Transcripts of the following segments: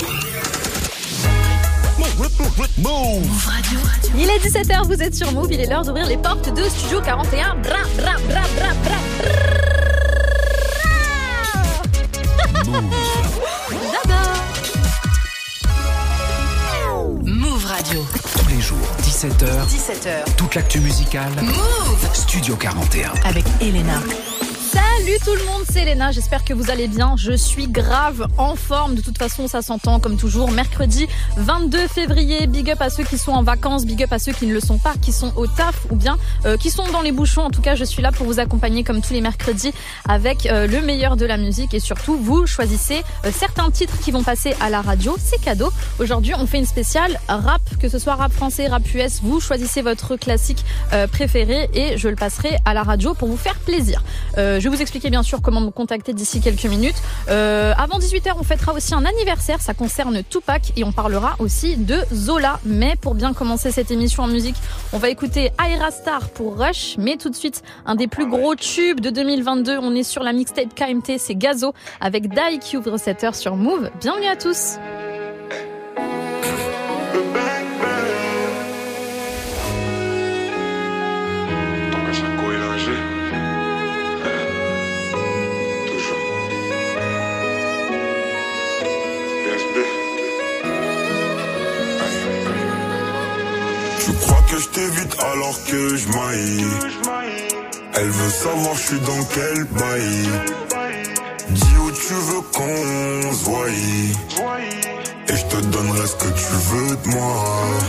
Move Radio. Il est 17h, vous êtes sur Move, il est l'heure d'ouvrir les portes de Studio 41. Bra, bra, bra, bra, bra, bra. Move. Move Radio. Tous les jours, 17h, toute l'actu musicale. Move Studio 41. avec Elena. Salut tout le monde, c'est Elena, j'espère que vous allez bien. Je suis grave en forme, de toute façon ça s'entend comme toujours. Mercredi 22 février, big up à ceux qui sont en vacances, big up à ceux qui ne le sont pas, qui sont au taf ou bien qui sont dans les bouchons. En tout cas, je suis là pour vous accompagner comme tous les mercredis avec le meilleur de la musique et surtout vous choisissez certains titres qui vont passer à la radio, c'est cadeau. Aujourd'hui on fait une spéciale rap, que ce soit rap français, rap US, vous choisissez votre classique préféré et je le passerai à la radio pour vous faire plaisir. Je vais vous expliquer bien sûr comment me contacter d'ici quelques minutes. Avant 18h, on fêtera aussi un anniversaire, ça concerne Tupac et on parlera aussi de Zola. Mais pour bien commencer cette émission en musique, on va écouter Ayra Starr pour Rush. Mais tout de suite, un des plus gros tubes de 2022, on est sur la mixtape KMT, c'est Gazo avec Dai qui ouvre cette heure sur Move. Bienvenue à tous. Tu crois que je t'évite alors que je maille. Elle veut savoir je suis dans quel bail. Dis où tu veux qu'on se voie et je te donnerai ce que tu veux de moi.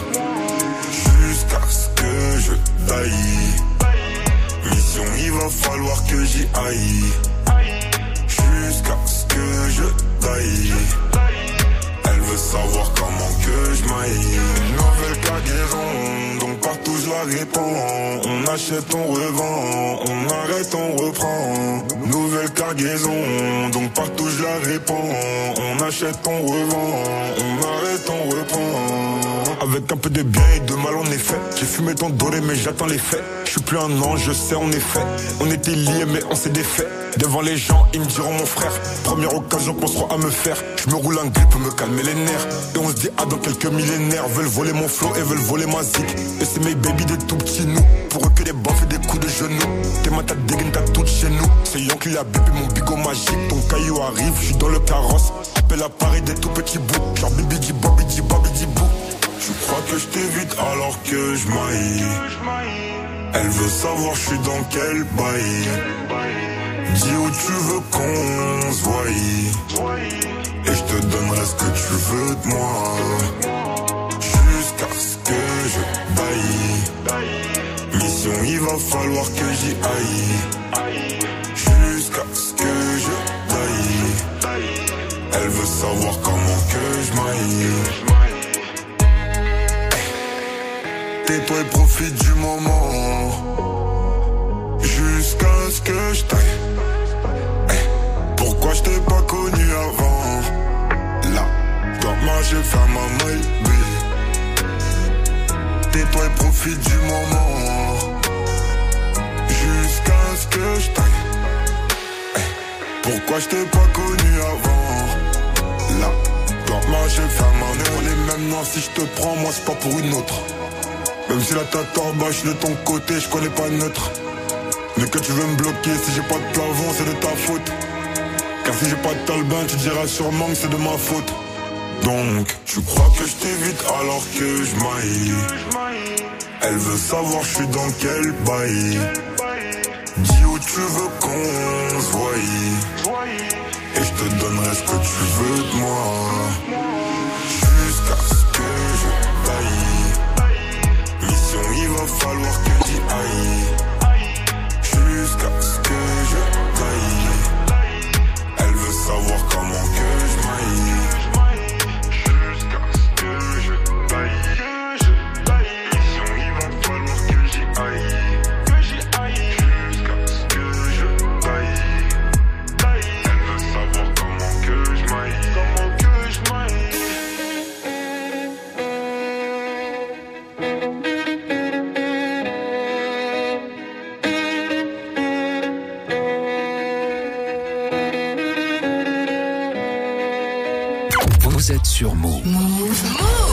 Jusqu'à ce que je taille. Mission il va falloir que j'y aille. Jusqu'à ce que je taille. Elle veut savoir comment que je maille. Une nouvelle cargaison, donc partout je la répands. On achète, on revend, on arrête, on reprend. Nouvelle cargaison, donc partout je la répands. On achète, on revend, on arrête, on reprend. Avec un peu de bien et de mal en effet. J'ai fumé ton doré mais j'attends les faits. Je suis plus un ange, je sais en effet. On était liés mais on s'est défait. Devant les gens, ils me diront mon frère. Première occasion qu'on sera à me faire. Je me roule un grippe pour me calmer les nerfs. Et on se dit ah dans quelques millénaires. Veulent voler mon flow et veulent voler ma zik. Et c'est mes baby des tout petits nous. Pour eux que des baffes et des coups de genoux. T'es ma tête dégaine, t'as toute chez nous. C'est Yankee la bébé, mon bigot magique. Ton caillou arrive, je suis dans le carrosse. Appelle à Paris des tout petits bouts. Genre bibi di babi di babi di bou. Tu crois que je t'évite alors que je maille. Elle veut savoir je suis dans quel bail. Dis où tu veux qu'on se voie et je te donnerai ce que tu veux de moi. Jusqu'à ce que je taille. Mission il va falloir que j'y aille. Jusqu'à ce que je taille. Elle veut savoir comment que je maille. Tais-toi et profite du moment. Jusqu'à ce que je taille. Pourquoi je t'ai pas connu avant? Là, dois marcher faire ma maille, tais-toi et profite du moment. Jusqu'à ce que je taille. Pourquoi je t'ai pas connu avant? Là, dois marcher faire ma maille. On est même noirs si je te prends, moi c'est pas pour une autre. Même si la tête en bas, je suis de ton côté, je connais pas neutre. Mais que tu veux me bloquer, si j'ai pas de plafond, c'est de ta faute. Car si j'ai pas de talbin, tu diras sûrement que c'est de ma faute. Donc, tu crois que je t'évite alors que je maille. Elle veut savoir je suis dans quel bail. Dis où tu veux qu'on se voie et je te donnerai ce que tu veux de moi. Jusqu'à ce que je taille. Mission il va falloir que j'y aille. Jusqu'à ce que je taille. Elle veut savoir comment que je maille. Jusqu'à ce que je taille. Mission il va falloir que j'y aille. Jusqu'à ce que je taille. Elle veut savoir comment que je maille. Vous êtes sur Move. Move.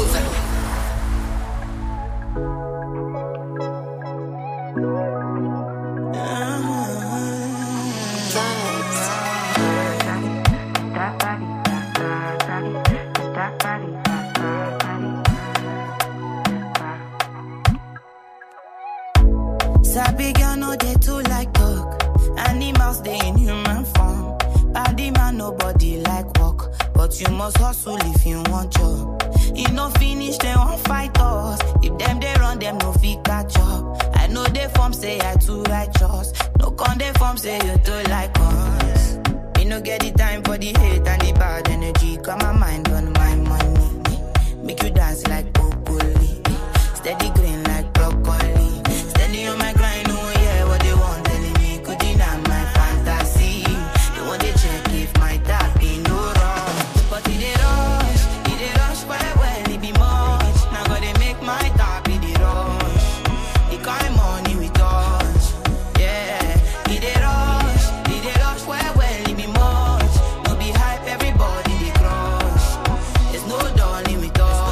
Sabi girl no dey too like talk. Animals dey in human form. Body man nobody like work, but you must hustle if you want job. You no finish they won't fight us. If them they run them no fit catch up. I know they form say I too righteous. No con they form say you too like us. Me no get the time for the hate and the bad energy. Got my mind on my money. Make you dance like broccoli. Steady green like broccoli. Steady on my grind, oh yeah, what they want telling me could deny my fantasy. They want to check if my tap be no wrong. But it rush, well, it be much. Now gotta make my tap be the rush. The kind money we touch, yeah. It rush, well, it be much. No be hype, everybody they crush. There's no darling with us.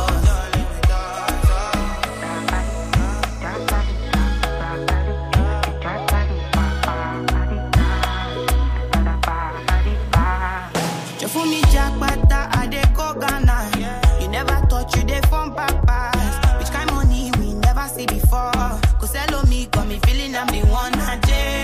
For me, Jack Bata, I dey go Ghana. You never thought you dey from papas. Which kind money we never see before? Cause hello me, got me feeling I'm the one. Ajay.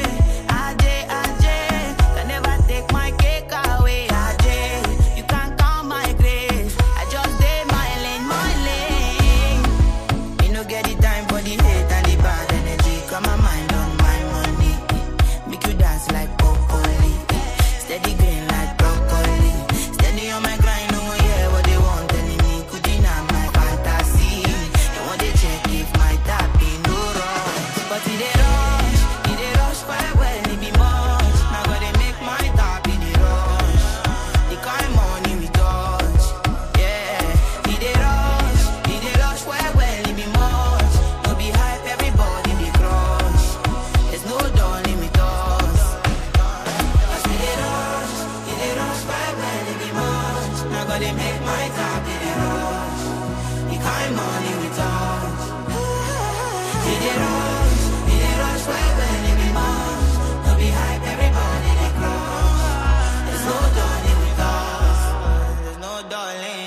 Can never take my cake away. Ajay, you can't count my grace. I just dey my lane. You no get the time for the hate and the bad energy. Got my mind on my money. Make you dance like broccoli. Steady green like broccoli. Steady on my grind, oh yeah, what they want telling me could deny my fantasy. They want to check if my tap be no wrong. But it dey rush, well, it be much. Now gotta make my tap be the rush. The kind money we touch, yeah. It dey rush, well, it be much. No be hype, everybody they crush. There's no darling with us. Cause it dey rush, well, it be much. Now gotta make my tap be the rush. The kind money we touch. It dey rush, well, it be much. No be hype, everybody they crush. There's no darling with us. There's no darling.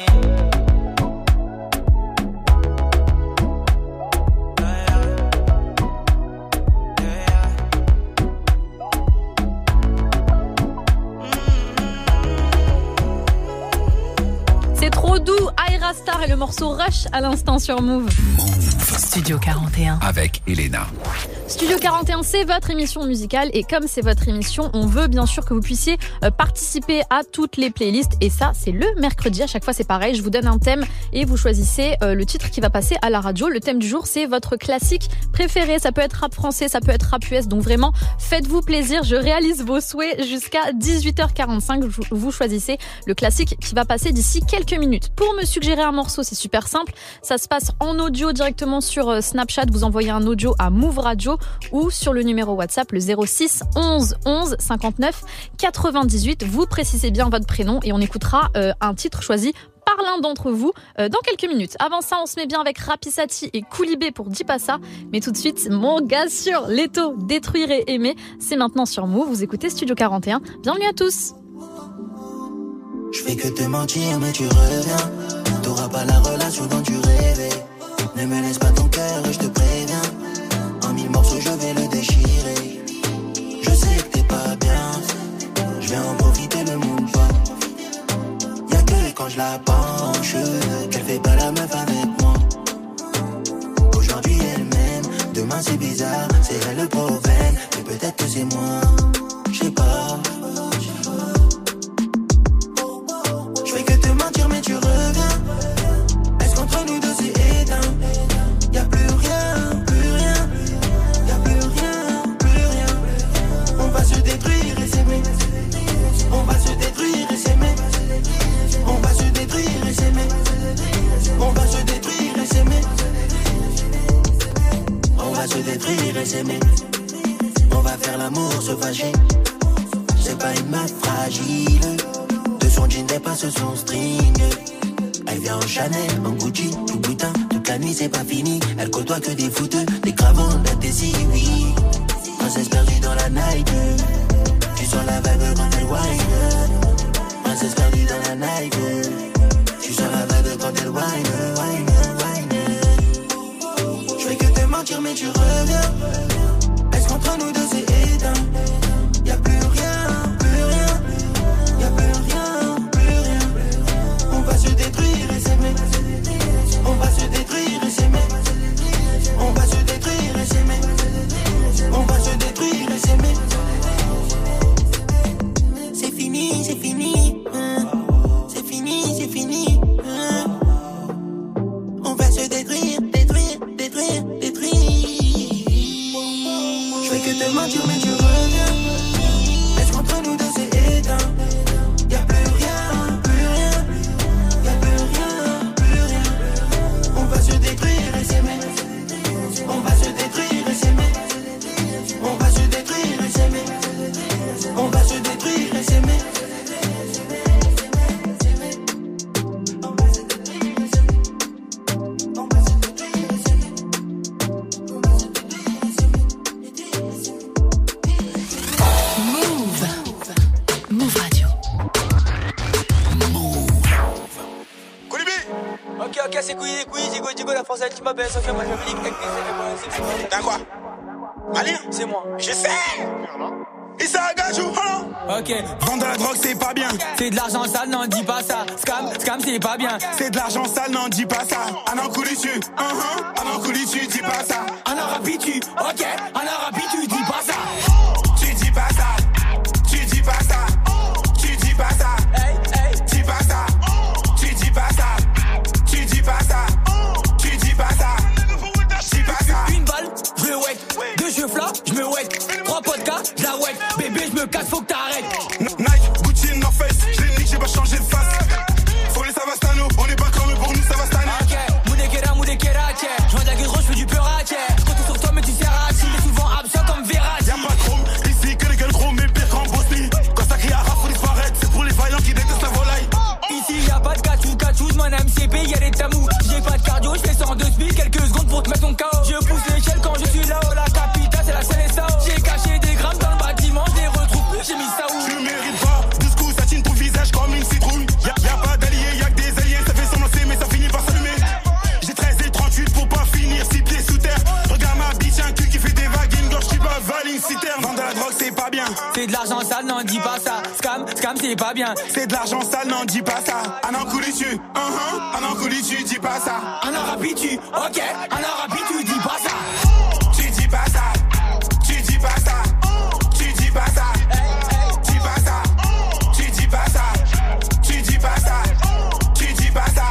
C'est trop doux, Aira Star et le morceau Rush à l'instant sur Move. Studio 41. Avec Elena. Studio 41, c'est votre émission musicale et comme c'est votre émission, on veut bien sûr que vous puissiez participer à toutes les playlists et ça, c'est le mercredi. À chaque fois, c'est pareil. Je vous donne un thème et vous choisissez le titre qui va passer à la radio. Le thème du jour, c'est votre classique préféré. Ça peut être rap français, ça peut être rap US. Donc vraiment, faites-vous plaisir. Je réalise vos souhaits jusqu'à 18h45. Vous choisissez le classique qui va passer d'ici quelques minutes. Pour me suggérer un morceau, c'est super simple. Ça se passe en audio directement sur Snapchat. Vous envoyez un audio à Move Radio ou sur le numéro WhatsApp, le 06 11 11 59 98. Vous précisez bien votre prénom et on écoutera un titre choisi par l'un d'entre vous dans quelques minutes. Avant ça, on se met bien avec Rapissati et Koulibé pour Dis pas ça. Mais tout de suite, mon gars sur Leto, Détruire et Aimer. C'est maintenant sur Move. Vous écoutez Studio 41. Bienvenue à tous. Je fais que te mentir, mais tu reviens. T'auras pas la relation dont tu rêvais. Ne me laisse pas ton cœur, je te préviens. En 1000 morceaux, je vais le déchirer. Je sais que t'es pas bien. Je vais en profiter, le monde pas. Y'a que quand je la penche qu'elle fait pas la meuf avec moi. Aujourd'hui elle m'aime, demain c'est bizarre. C'est elle le problème, mais peut-être que c'est moi. Je sais pas. Je fais que te mentir mais tu reviens. Est-ce qu'entre nous deux c'est éteint? Y'a plus rien, plus rien. Y'a plus rien, plus rien. On va se détruire et s'aimer. On va se détruire et s'aimer. On va se détruire et s'aimer. On va se détruire et s'aimer. On va se détruire et s'aimer. On va faire l'amour, se fâcher. C'est pas une meuf fragile. De son jean dépasse son string. T'es en Chanel, en Gucci, tout boutin. Toute la nuit c'est pas fini. Elle côtoie que des fouteux, des cravants, des oui. Princesse perdue dans la night. Tu sens la vibe quand elle whine. Princesse perdue dans la night. Tu sens la vibe quand elle whine. Je fais que te mentir mais tu reviens. Est-ce qu'entre nous deux c'est éteint? Y'a plus rien, plus rien. Y'a plus rien, plus rien. On va se détruire et s'aimer. On va se détruire et s'aimer. On va se détruire et s'aimer. On va se détruire et s'aimer. C'est fini, c'est fini. C'est fini, c'est fini. On va se détruire, détruire, détruire, détruire. Je fais que te mentir mais tu reviens. Est-ce qu'entre nous deux c'est éteint? Y'a plus rien, plus rien. Y'a plus rien, plus rien. On va se détruire et s'aimer. On va se détruire et s'aimer. On va se détruire et s'aimer. On va se détruire et s'aimer. Move Radio. Ok, c'est couilles, Digo, la française, tu m'appelles, Sophia, moi je me dis que t'as quoi? Malien? C'est moi. Je sais! Issa Agajou, ok. Vendre de la drogue, c'est pas bien. C'est de l'argent sale, non, dis pas ça. Scam, c'est pas bien. C'est de l'argent sale, non, dis pas ça. Un an coulu dessus, un an coulu dessus, dis pas ça. Un arabe tu, ok. Un arabe tu, dis pas ça. Tu dis pas ça. Tu dis pas ça. Tu dis pas ça. Hey. Dis pas ça. Tu dis pas ça. Tu dis pas ça. Tu dis pas ça. Dis pas ça. Une balle, je le wet. Deux cheveux là, je me wet. Trois podcasts, je la wet. Bébé, je me casse, faut que t'arrêtes. Nike, Gucci, North Face. Je l'ai nique, j'ai pas changé de face. Faut les Savastano. On est pas comme eux, pour nous, ça va stanner. Ok, Moudekera, tiens. Je vois de la gueule, je fais du peur à tiens. Je compte sur toi, mais tu sers à qui. Mais souvent absent comme Verratti. Y'a pas de chrome, ici que les gueules gros, mais pire qu'en Bosnie. Quand ça crie à rap, faut disparaître. C'est pour les vaillants qui détestent la volaille. Ici y'a pas de cachou, mon MCP, y'a des tamous. J'ai pas de cardio, je fais 102 000, quelques secondes pour te mettre ton KO. Je pousse l'échelle quand je suis là-haut, la capitale c'est la CSAO. J'ai caché des grammes dans le bâtiment, je les retrouve plus, j'ai mis ça où? Tu mérites pas, du coup ça tine ton visage comme une citrouille. Y'a pas d'alliés, y'a que des alliés, ça fait semblant mais ça finit par s'allumer. J'ai 13 et 38 pour pas finir 6 pieds sous terre. Regarde ma bitch, un cul qui fait des vagues, une gorge qui bat une citerne. Vendre de la drogue c'est pas bien. C'est de l'argent sale, non dis pas ça. Scam c'est pas bien. C'est de l'argent sale, non dis pas ça. Un an coulu dessus, un an coulu dessus, dis pas ça. Un arabe tu, ok. Un arabe tu, dis pas ça. Tu dis pas ça. Tu dis pas ça. Tu dis pas ça. Dis pas ça. Tu dis pas ça. Tu dis pas ça. Tu dis pas ça.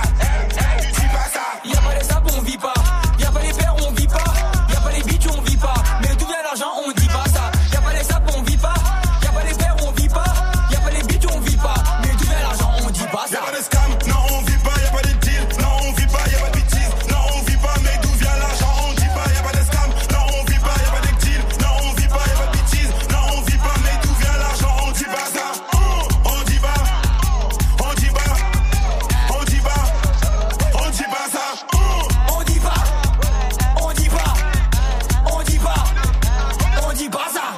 Dis pas ça. Y'a pas les sapes, on vit pas. Y'a pas les pères, on vit pas. Y'a pas les bitches, on vit pas. Mais d'où vient l'argent, on dit pas ça. Y'a pas les sapes, on vit pas. Y'a pas les pères, on vit pas. Y'a pas les bitches, on vit pas. Mais d'où vient l'argent, on dit pas ça. Y'a pas de scam, non on vit pas. Y'a pas de deal, non on vit pas. Y'a pas de bêtises, non on vit pas. Mais d'où vient l'argent, on dit pas. Y'a pas de scam, non on vit pas. Y'a pas de deal, non on vit pas. Y'a pas de bêtises, non on vit pas. Mais d'où vient l'argent, on dit pas ça. On dit pas, on dit pas, on dit pas, on dit pas ça. On dit pas, on dit pas, on dit pas, on dit pas ça.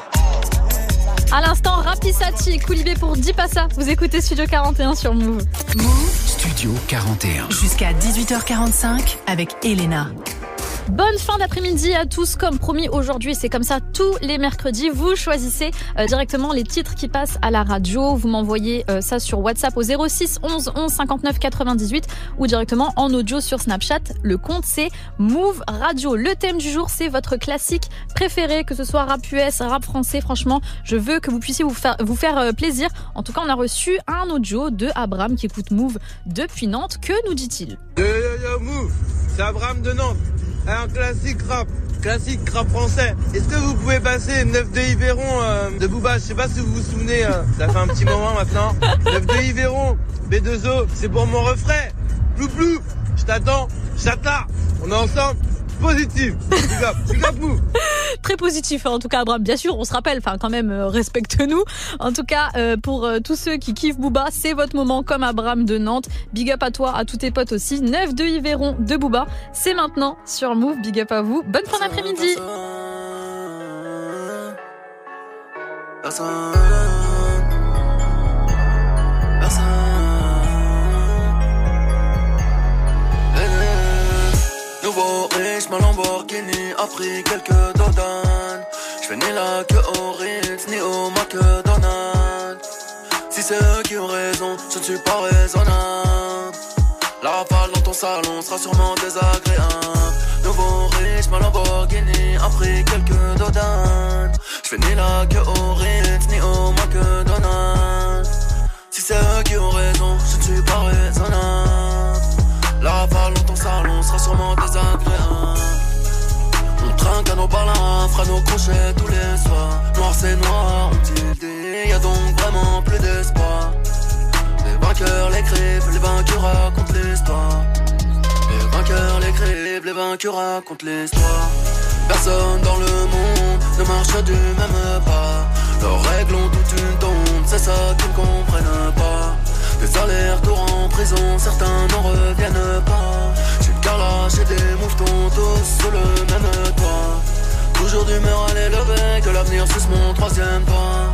À l'instant, Rapisati et Koulibé pour Dis pas ça. Vous écoutez Studio 41 sur Move. Studio 41. Jusqu'à 18h45 avec Elena. Bonne fin d'après-midi à tous. Comme promis, aujourd'hui, c'est comme ça tous les mercredis. Vous choisissez directement les titres qui passent à la radio. Vous m'envoyez ça sur WhatsApp au 06 11 11 59 98 ou directement en audio sur Snapchat. Le compte, c'est Move Radio. Le thème du jour, c'est votre classique préféré, que ce soit rap US, rap français. Franchement, je veux que vous puissiez vous faire plaisir. En tout cas, on a reçu un audio de Abraham qui écoute Move depuis Nantes. Que nous dit-il? Yo Move, c'est Abraham de Nantes. Un classique rap français. Est-ce que vous pouvez passer 9 de Yveron de Booba? Je sais pas si vous vous souvenez, ça fait un petit moment maintenant. 9 de Yveron, B2O, c'est pour mon refrain. Plou, je t'attends, chata, on est ensemble. Positive. Big up Move. Très positif, en tout cas, Abraham. Bien sûr, on se rappelle, enfin, quand même, respecte-nous. En tout cas, pour tous ceux qui kiffent Booba, c'est votre moment, comme Abraham de Nantes. Big up à toi, à tous tes potes aussi. 9 de Yveron de Booba. C'est maintenant sur Move. Big up à vous. Bonne fin d'après-midi. Nouveau riche, ma Lamborghini a pris quelques dodanes. J'fais ni la queue au Ritz, ni au McDonald's. Si c'est eux qui ont raison, je ne suis pas raisonnable. La rafale dans ton salon sera sûrement désagréable. Nouveau riche, ma Lamborghini a pris quelques dodanes. J'fais ni la queue au Ritz, ni au McDonald's. Si c'est eux qui ont raison, je ne suis pas raisonnable. La rafale dans ton salon sera sûrement désagréable. On trinque à nos balins, fera nos crochets tous les soirs. Noir c'est noir, ont-ils dit, y'a donc vraiment plus d'espoir. Les vainqueurs l'écrivent, les vaincus racontent l'histoire. Les vainqueurs l'écrivent, les vaincus racontent l'histoire. Personne dans le monde ne marche du même pas. Leurs règles ont toute une tombe, c'est ça qu'ils ne comprennent pas. Des allers-retours en prison, certains n'en reviennent pas. J'ai une carlache et des mouvements tous sous le même toit. Toujours d'humeur à l'élever, que l'avenir suce mon troisième pas.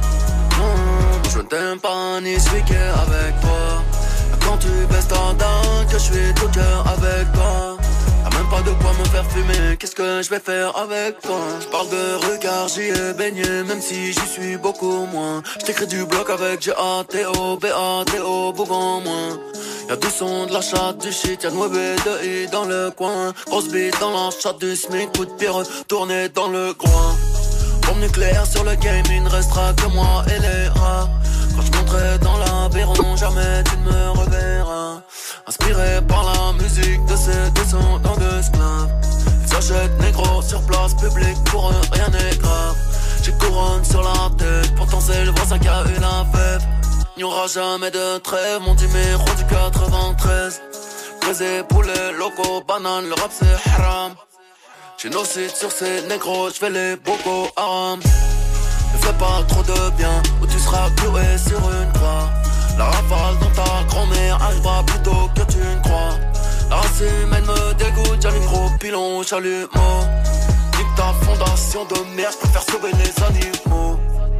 Non, je ne t'aime pas ni celui qui est avec toi. Quand tu baisses ta dinde, que je suis tout cœur avec toi. Y'a même pas de quoi me faire fumer, qu'est-ce que je vais faire avec toi? Je parle de regard, j'y ai baigné, même si j'y suis beaucoup moins. Je t'écris du bloc avec G-A-T-O, B-A-T-O, Bougon moins. Y'a du son, de la chatte, du shit, y'a de mauvais de I dans le coin. Grosse bite dans la chatte du SMIC, coup de pied retourné dans le groin. Bombe nucléaire sur le game, il ne restera que moi et les rats. Quand je monterai dans l'Aveyron, jamais tu ne me reverras. Inspiré par la musique de ces descendants d'esclaves. Ils s'achètent négro sur place publique, pour eux rien n'est grave. J'ai couronne sur la tête, pourtant c'est le voisin qui a eu la fève. Il n'y aura jamais de trêve, mon numéro du 93. Brisé, poulet, loco, banane, le rap c'est haram. J'ai nos sites sur ces négros, j'fais les Boko Haram. Ne fais pas trop de bien, ou tu seras cloué sur une croix. La rafale dans ta grand-mère arrivera plus tôt que tu ne crois. La race humaine me dégoûte, j'allume gros pilon, chalumeau. Nique ta fondation de merde, je préfère sauver les animaux.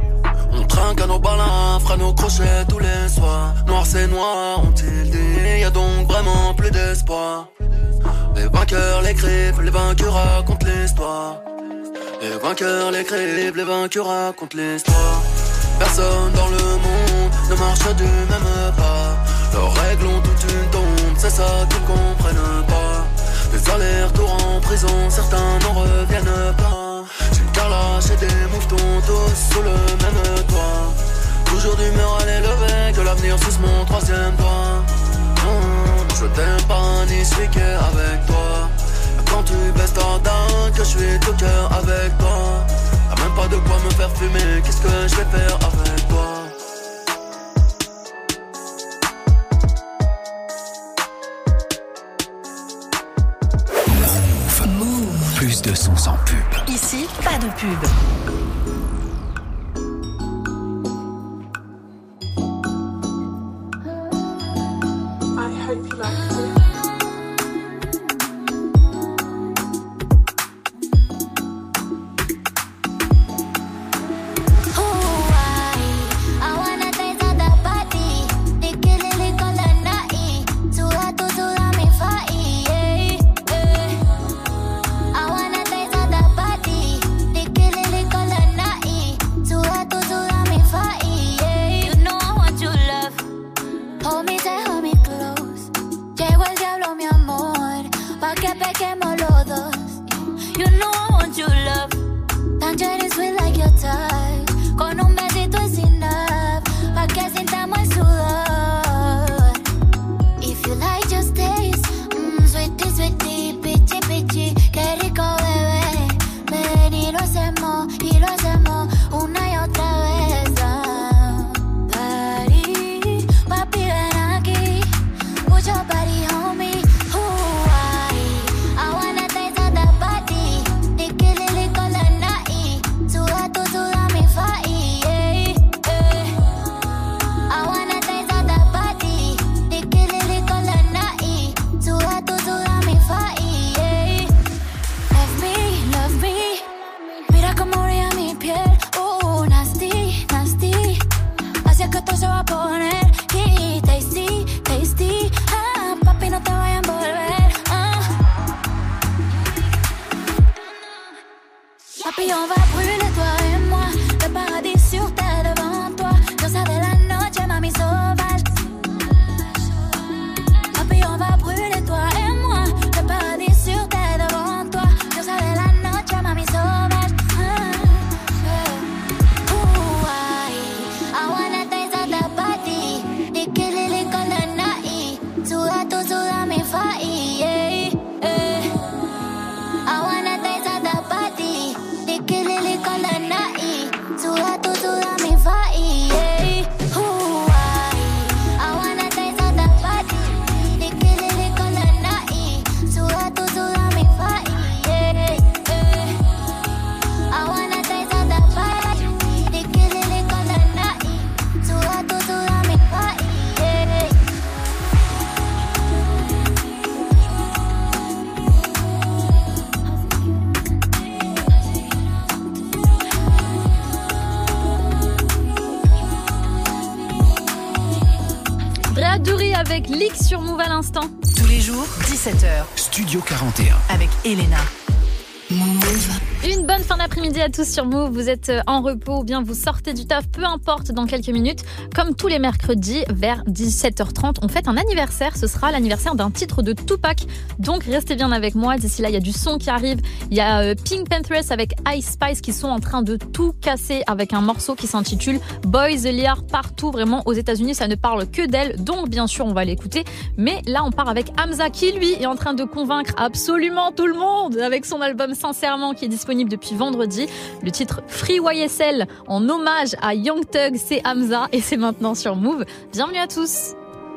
On trinque à nos balins, fera nos crochets tous les soirs. Noir c'est noir, ont-ils dit, y'a donc vraiment plus d'espoir. Les vainqueurs l'écrivent, les vaincus racontent l'histoire. Les vainqueurs l'écrivent, les vaincus racontent l'histoire. Personne dans le monde ne marche du même pas. Leurs règles ont toute une tombe, c'est ça qu'ils ne comprennent pas. Des allers-retours en prison, certains n'en reviennent pas. J'ai une carlache et des mouvements tous sous le même toit. Toujours d'humeur à l'élever, que l'avenir suce mon troisième doigt. Non, je t'aime pas ni celui qui est avec toi. Quand tu baisses ta dinde, que je suis tout cœur avec toi. Y'a même pas de quoi me faire fumer, qu'est-ce que je vais faire avec toi? Move. Plus de sons sans pub. Ici, pas de pub. I hope you like it. I wanna taste of the party. on va brûler toi et moi. Le paradis sur terre devant toi. Rosa de la noche, mami sauvage. Papi, on va brûler toi et moi. Le paradis sur terre devant toi. Rosa de la noche, mami sauvage. I wanna taste of the body. They kill it con the night. Suda tu suda mi fai. I wanna taste of the body. They kill it con the night. Suda tu suda mi fai. I wanna taste of the body. They kill it con the night. Suda tu suda mi fai. I wanna taste of the body. They kill it con the night. Suda tu suda mi fai. Bradbury avec Leak sur Move à l'instant. Tous les jours, 17h. Studio 41. Avec Elena. Une bonne fin d'après-midi à tous sur Move. Vous êtes en repos ou bien vous sortez du taf, peu importe, dans quelques minutes. Comme tous les mercredis, vers 17h30, on fête un anniversaire. Ce sera l'anniversaire d'un titre de Tupac. Donc restez bien avec moi. D'ici là, il y a du son qui arrive. Il y a Pink Panthers avec Ice Spice qui sont en train de tout casser avec un morceau qui s'intitule Boys the Liar. Partout, vraiment, aux États-Unis, ça ne parle que d'elle. Donc bien sûr, on va l'écouter. Mais là, on part avec Hamza qui, lui, est en train de convaincre absolument tout le monde avec son album Sincèrement qui est disponible depuis vendredi. Le titre Free YSL en hommage à Young Thug, c'est Hamza et c'est maintenant sur Move. Bienvenue à tous.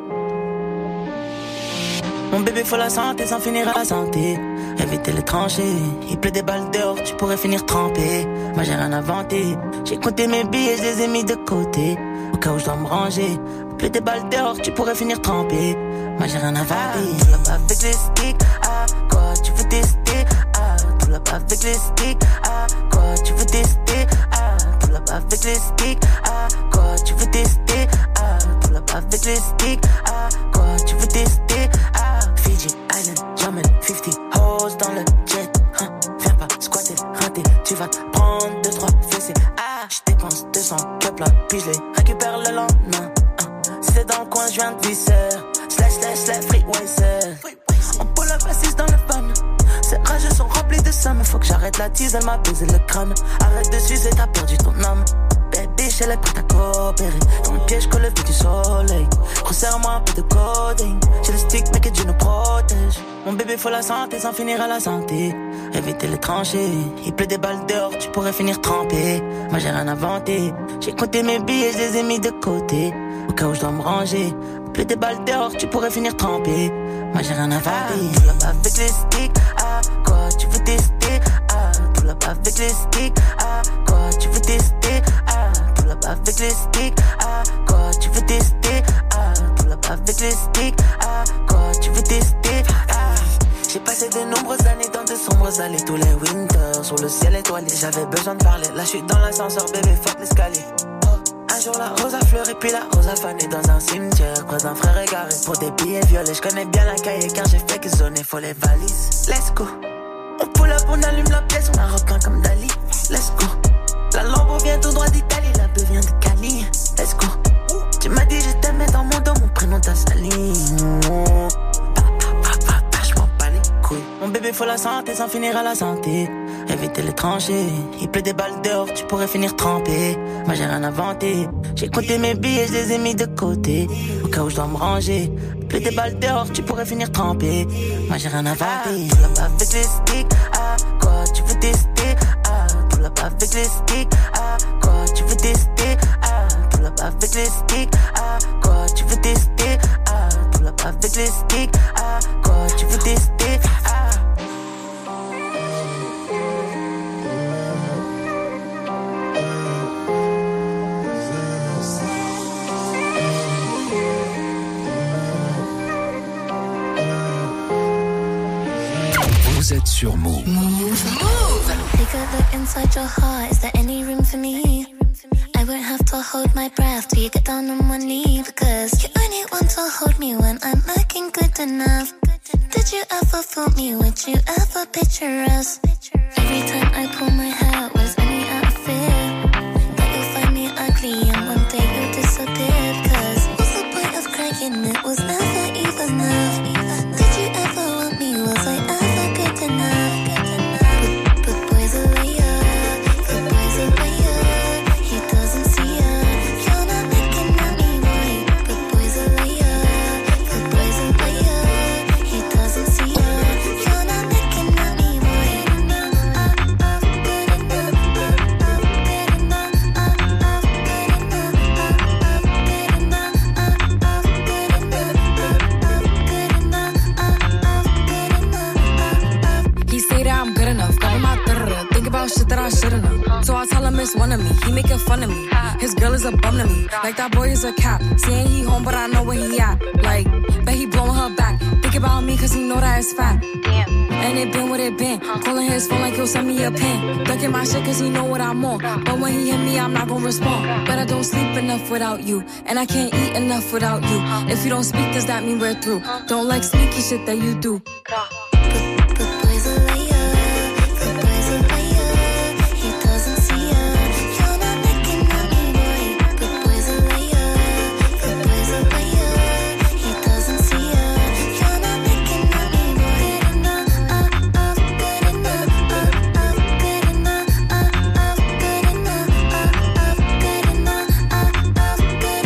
Mon bébé faut la santé sans finir à la santé. Éviter les tranchées, il pleut des balles dehors, tu pourrais finir trempé. Moi j'ai rien inventé, j'ai compté mes billets, je les ai mis de côté. Au cas où je dois me ranger, il pleut des balles dehors, tu pourrais finir trempé. Moi j'ai rien inventé, tu l'as pas avec les sticks, ah quoi tu veux tester, ah tu l'as pas avec les sticks, ah quoi tu veux tester, ah tu l'as pas avec les sticks, ah quoi tu veux tester, ah tu l'as pas avec les sticks, ah quoi tu veux tester, ah Fiji Island, Jamaica 50 hoes dans le jet, hein. Viens pas squatter, rater, tu vas te prendre 2-3 fessées, ah j'dépense 200 cups là, puis je les récupère le lendemain, hein. Si c'est dans le coin, je viens de visser, slash, free YSL. On pull up assise dans le fun. Ces rages sont remplies de somme. Faut que j'arrête la tease, elle m'a baisé le crâne. Arrête de sucer, t'as perdu ton âme. Baby, elle est prête à coopérer. Dans le piège, colle le vue du soleil. Resserre-moi un peu de coding. J'ai le stick, mais que Dieu nous protège. Mon bébé, faut la santé sans finir à la santé. Éviter les tranchées. Il pleut des balles dehors, tu pourrais finir trempé. Moi, j'ai rien inventé. J'ai compté mes billets, je les ai mis de côté. Au cas où je dois me ranger. Plus des balles dehors, tu pourrais finir trempé. Moi j'ai rien à faire. Tu l'as pas avec les sticks, ah quoi tu veux tester, ah tu l'as pas avec les sticks, ah quoi tu veux tester, ah tu l'as pas avec les sticks, ah quoi tu veux tester, ah tu l'as pas avec les sticks, ah quoi tu veux tester, ah. J'ai passé de nombreuses années dans de sombres allées, tous les winters sur le ciel étoilé. J'avais besoin de parler, là je suis dans l'ascenseur, bébé fuck l'escalier. Un jour la rose a fleuri puis la rose a fané dans un cimetière près d'un frère égaré pour des billets violets. Je connais bien la cahier car j'ai fait que zoner, faut les valises. Let's go. On pull up, on allume la pièce, on a repeint comme Dali. Let's go. La Lambo vient tout droit d'Italie, la beuh vient de Cali. Let's go. Tu m'as dit je t'aimais dans mon dos, mon prénom t'a sali. Je m'en bats les couilles. Mon bébé faut la santé sans finir à la santé. Éviter les tranchées, il pleut des balles dehors, tu pourrais finir trempé. Moi j'ai rien inventé, j'ai compté mes billets, je les ai mis de côté. Au cas où je dois me ranger, il pleut des balles dehors, tu pourrais finir trempé. Moi j'ai rien inventé, tu l'as pas avec les sticks, ah quoi tu veux tester, ah tu l'as pas avec les sticks, ah quoi tu veux tester, ah tu l'as pas avec les sticks, ah quoi tu veux tester, ah tu l'as pas avec les sticks, ah quoi tu veux tester, ah. Vous êtes sur Move. Take a look inside your heart. Is there any room for me? I won't have to hold my breath till you get down on one knee. Because you only want to hold me when I'm looking good enough. Did you ever fool me? Would you ever picture us? Every time I pull my hair out, was only out of fear that you'll find me ugly and one day you'll disappear. Cause what's the point of crying? It was never even enough. Did you ever want me? Was I ever good enough? But boys are liar, the boys are liar. He doesn't see her. You're not looking at me right. But boys are liar, the boys are liar. He doesn't see her. You're not looking at me right. He say that I'm good enough, got him out there. Think about shit that I should've known. So I tell him it's one of me. He making fun of me. His girl is a bum to me. Like that boy is a cap. Saying he home, but I know where he at. Like, bet he blowing her back. Think about me, cause he know that it's fat. Damn. And it been what it been. Calling his phone like he'll send me a pin. Ducking my shit cause he know what I'm on. But when he hit me, I'm not gonna respond. But I don't sleep enough without you. And I can't eat enough without you. If you don't speak, does that mean we're through? Don't like sneaky shit that you do. Boys are liar, the boys are liar. He doesn't see her. You're not looking at me right. The boys are liar, the boys are liar. He doesn't see her. You're not looking at me right. Good enough, good enough, good enough, good enough, good enough, good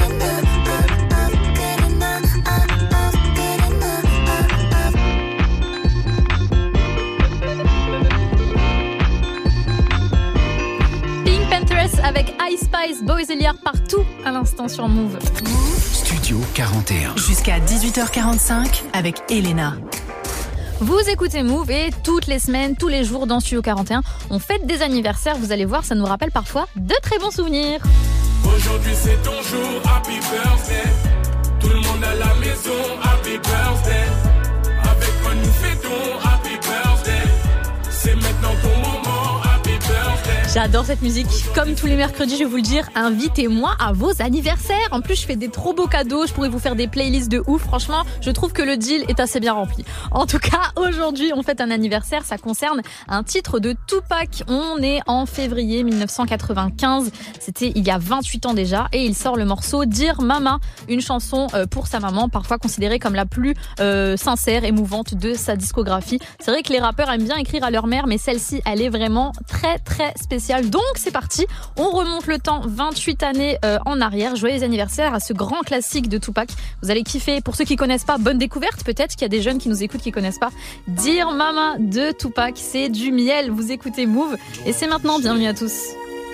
Pink Panthers avec Ice Spice, Boys et Liar partout à l'instant sur Move. Studio 41. Jusqu'à 18h45 avec Elena. Vous écoutez Move et toutes les semaines, tous les jours dans Studio 41, on fête des anniversaires. Vous allez voir, ça nous rappelle parfois de très bons souvenirs. Aujourd'hui c'est ton jour, happy birthday. Tout le monde à la maison, happy birthday. Avec moi nous fêtons, happy birthday. C'est maintenant ton moment, happy birthday. J'adore cette musique. Comme tous les mercredis, je vais vous le dire, invitez-moi à vos anniversaires. En plus, je fais des trop beaux cadeaux. Je pourrais vous faire des playlists de ouf. Franchement, je trouve que le deal est assez bien rempli. En tout cas, aujourd'hui, on fête un anniversaire. Ça concerne un titre de Tupac. On est en février 1995. C'était il y a 28 ans déjà. Et il sort le morceau Dear Mama, une chanson pour sa maman, parfois considérée comme la plus sincère, émouvante de sa discographie. C'est vrai que les rappeurs aiment bien écrire à leur mère, mais celle-ci, elle est vraiment très, très spéciale. Donc c'est parti, on remonte le temps 28 années en arrière. Joyeux anniversaire à ce grand classique de Tupac. Vous allez kiffer. Pour ceux qui connaissent pas, bonne découverte. Peut-être qu'il y a des jeunes qui nous écoutent qui connaissent pas. Dear Mama de Tupac, c'est du miel. Vous écoutez Move et c'est maintenant. Bienvenue à tous.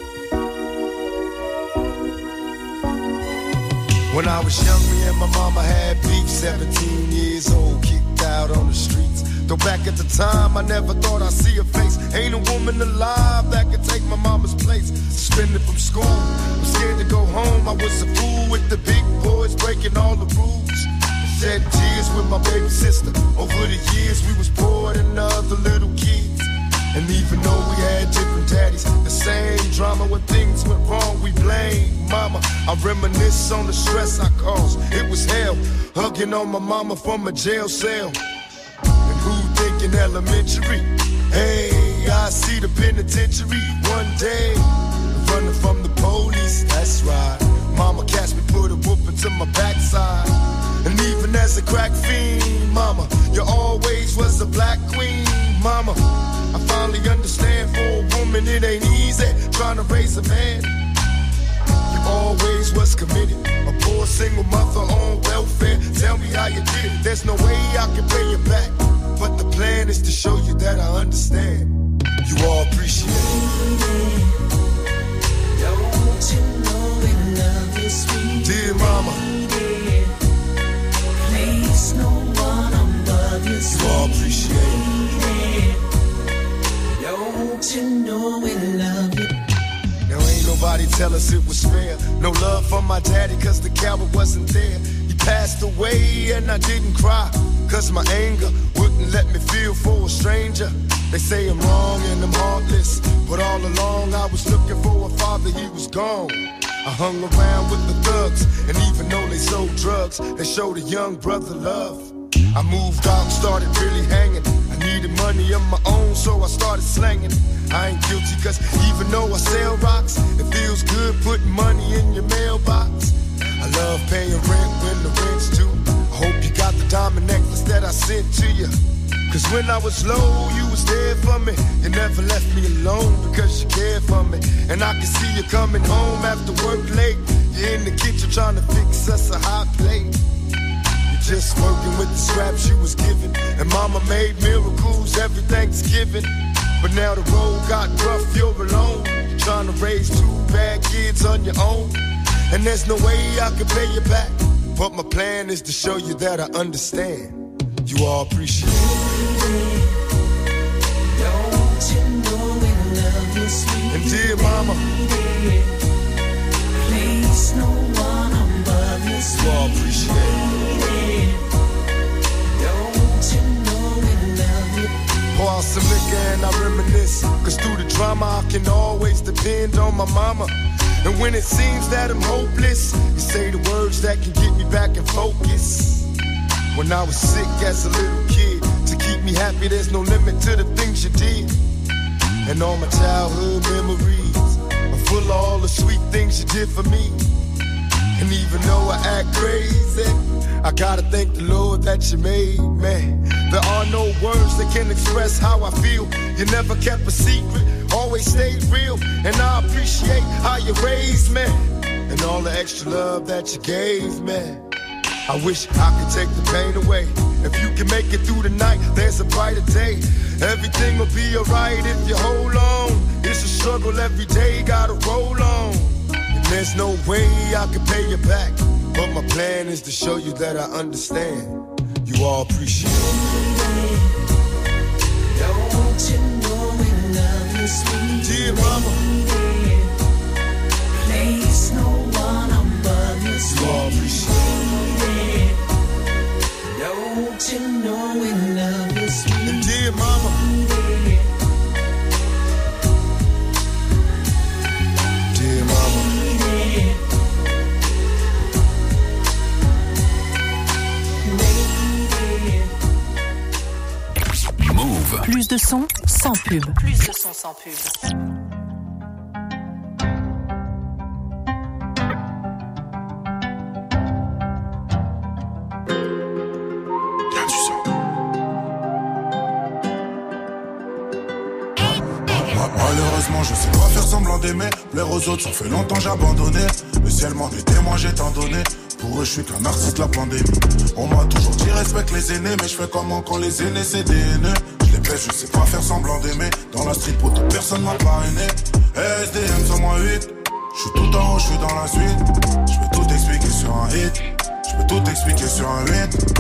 When I was young, me and my mama had beef, 17 years old, kicked out on the streets. Though back at the time, I never thought I'd see her face. Ain't a woman alive that could take my mama's place. Suspended from school, I'm scared to go home. I was a fool with the big boys, breaking all the rules. Shed tears with my baby sister. Over the years, we was poor than other little kids. And even though we had different daddies, the same drama when things went wrong, we blame mama. I reminisce on the stress I caused. It was hell, hugging on my mama from a jail cell. And who thinking elementary? Hey, I see the penitentiary one day. Running from the police, that's right. Mama catch me, put a whooping to my backside. And even as a crack fiend, mama, you always was a black queen, mama. I finally understand for a woman it ain't easy trying to raise a man. You always was committed, a poor single mother on welfare. Tell me how you did it, there's no way I can pay you back. But the plan is to show you that I understand. You all appreciate it. Don't you know we love you, sweet dear mama. Place no one above you, sweet. You all appreciate it. Don't you know we love you? Now ain't nobody tell us it was fair. No love for my daddy cause the coward wasn't there. He passed away and I didn't cry cause my anger wouldn't let me feel for a stranger. They say I'm wrong and I'm heartless, but all along I was looking for a father, he was gone. I hung around with the thugs, and even though they sold drugs, they showed a young brother love. I moved out and started really hanging. I Needed money of my own, so I started slanging. I ain't guilty, cause even though I sell rocks, it feels good putting money in your mailbox. I love paying rent when the rent's due. I hope you got the diamond necklace that I sent to you. Cause when I was low, you was there for me. You never left me alone because you cared for me. And I can see you coming home after work late. You're in the kitchen trying to fix us a hot plate. You're just working with the scraps you was given. And mama made miracles every Thanksgiving. But now the road got rough, you're alone. You're trying to raise 2 bad kids on your own. And there's no way I can pay you back. But my plan is to show you that I understand. You all appreciate it. Don't you know we love you, sweet and dear mama, place no one above you, sweet. You all appreciate it. Don't you know we love you. Pour out some liquor and I reminisce. Cause through the drama I can always depend on my mama. And when it seems that I'm hopeless, you say the words that can get me back in focus. When I was sick as a little kid, to keep me happy there's no limit to the things you did. And all my childhood memories are full of all the sweet things you did for me. And even though I act crazy, I gotta thank the Lord that you made me. There are no words that can express how I feel. You never kept a secret, always stayed real. And I appreciate how you raised me and all the extra love that you gave me. I wish I could take the pain away. If you can make it through the night, there's a brighter day. Everything will be alright if you hold on. It's a struggle every day, gotta roll on. And there's no way I can pay you back. But my plan is to show you that I understand. You all appreciate it. Don't you know we love you, sweet dear mama, place no one above you, sweet. You all appreciate it. Don't you know we love you, sweet and dear mama, dear mama. Move. Plus de son, sans pub. Plus de son, sans pub. Malheureusement je sais pas faire semblant d'aimer. Plaire aux autres ça fait longtemps j'ai abandonné. Le ciel m'en est témoin j'ai tant donné. Pour eux je suis qu'un artiste la pandémie. On m'a toujours dit respecte les aînés. Mais je fais comment quand les aînés c'est des haineux. Je les baisse je sais pas faire semblant d'aimer. Dans la street pour toute personne m'a parrainé. SDM sur moi 8. Je suis tout en haut, je suis dans la suite. Je peux tout expliquer sur un hit. Je peux tout expliquer sur un 8.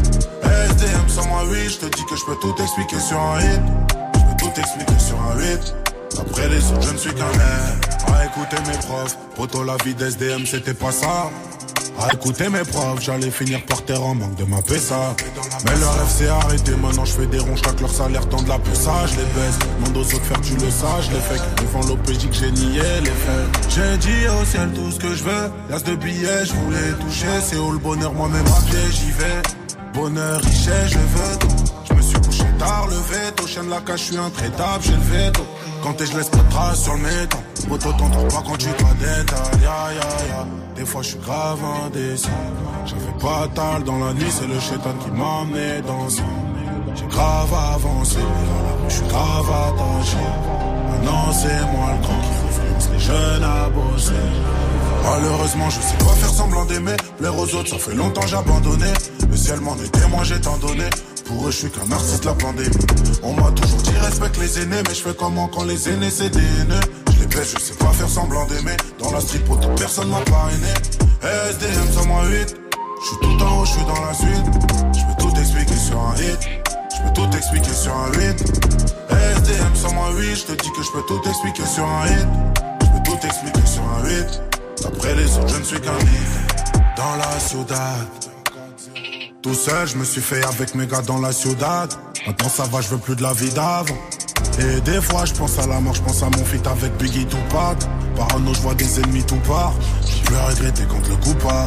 SDM sur moi 8. Je te dis que je peux tout expliquer sur un hit. Je peux tout expliquer sur un 8. Après les autres je ne suis qu'un air. À écouter mes profs. Poto la vie d'SDM c'était pas ça. À écouter mes profs, j'allais finir par terre en manque de ma PSA. Mais leur rêve s'est arrêté, maintenant je fais des ronds, chaque leur salaire tend de la PSA, je les baisse. Demande aux autres faire tu le sais, je les fais. Devant l'OPJ que j'ai nié les faits. J'ai dit au ciel tout ce que je veux. L'as de billets, je voulais toucher. C'est où le bonheur, moi-même à pied, j'y vais. Bonheur, richesse, je veux tout. Je me suis couché tard, le veto. Chien de la cage, je suis intraitable, j'ai le veto. Quand t'es, je laisse pas de traces sur le métal. Moto t'entends pas quand tu t'as détail. Des fois je suis grave indécis. J'avais pas tal dans la nuit, c'est le chétan qui m'a amené dans ça. J'ai grave avancé, je suis grave attaché. Maintenant c'est moi le grand qui influence les jeunes à bosser. Malheureusement je sais pas faire semblant d'aimer. Plaire aux autres ça fait longtemps j'ai abandonné. Le ciel m'en est témoin j'ai tant donné. Pour eux je suis qu'un artiste la pandémie. On m'a toujours dit respecte les aînés. Mais je fais comment quand les aînés c'est des haineux. Je les baisse je sais pas faire semblant d'aimer. Dans la street pour toute personne m'a parrainé. SDM sur moi 8. Je suis tout en haut je suis dans la suite. Je peux tout expliquer sur un hit. Je peux tout expliquer sur un 8. SDM sur moi 8. Je te dis que je peux tout expliquer sur un hit. Je peux tout expliquer sur un 8. Après les autres je ne suis qu'un hit. Dans la ciudad. Tout seul, je me suis fait avec mes gars dans la ciudad. Maintenant ça va, je veux plus de la vie d'avant. Et des fois, je pense à la mort, je pense à mon feat avec Biggie Tupac. Parano, je vois des ennemis tout part. Je peux regretter quand le coup part.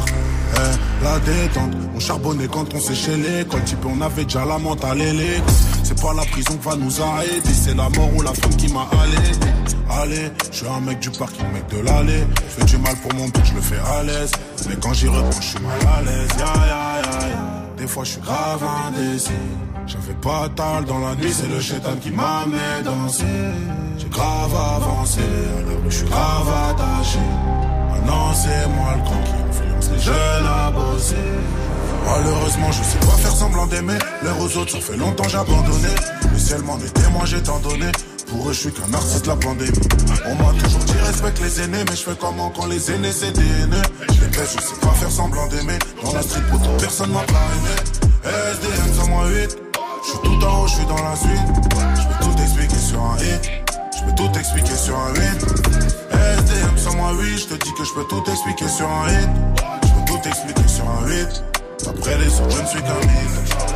La détente, on charbonnait quand on séchait l'école. Type on avait déjà la mentale et les c'est pas la prison qui va nous arrêter, c'est la mort ou la femme qui m'a allé, je suis un mec du parking, mec de l'allée. Je fais du mal pour mon but, je le fais à l'aise. Mais quand j'y réponds, je suis mal à l'aise. Des fois je suis grave indécis. J'avais pas tal dans la nuit, c'est le chétan qui m'a amené danser. J'ai grave avancé, à la rue je suis grave attaché. Maintenant c'est moi le grand qui influence les jeunes à bosser. Malheureusement je sais pas faire semblant d'aimer. L'air aux autres ça fait longtemps j'ai abandonné. Le ciel m'en est témoin j'ai tant donné. Pour eux je suis qu'un artiste la pandémie. On m'a toujours dit respecte les aînés. Mais je fais comment quand les aînés c'est des haineux. Je les baisse, je sais pas faire semblant d'aimer. Dans la street pour personne m'a pas aimé. SDM sans moi 8. Je suis tout en haut, je suis dans la suite. Je peux tout expliquer sur un hit. Je peux tout expliquer sur un hit. SDM sans moi 8. Je te dis que je peux tout expliquer sur un hit. Je peux tout expliquer sur un hit. Après les autres je ne suis qu'un hit.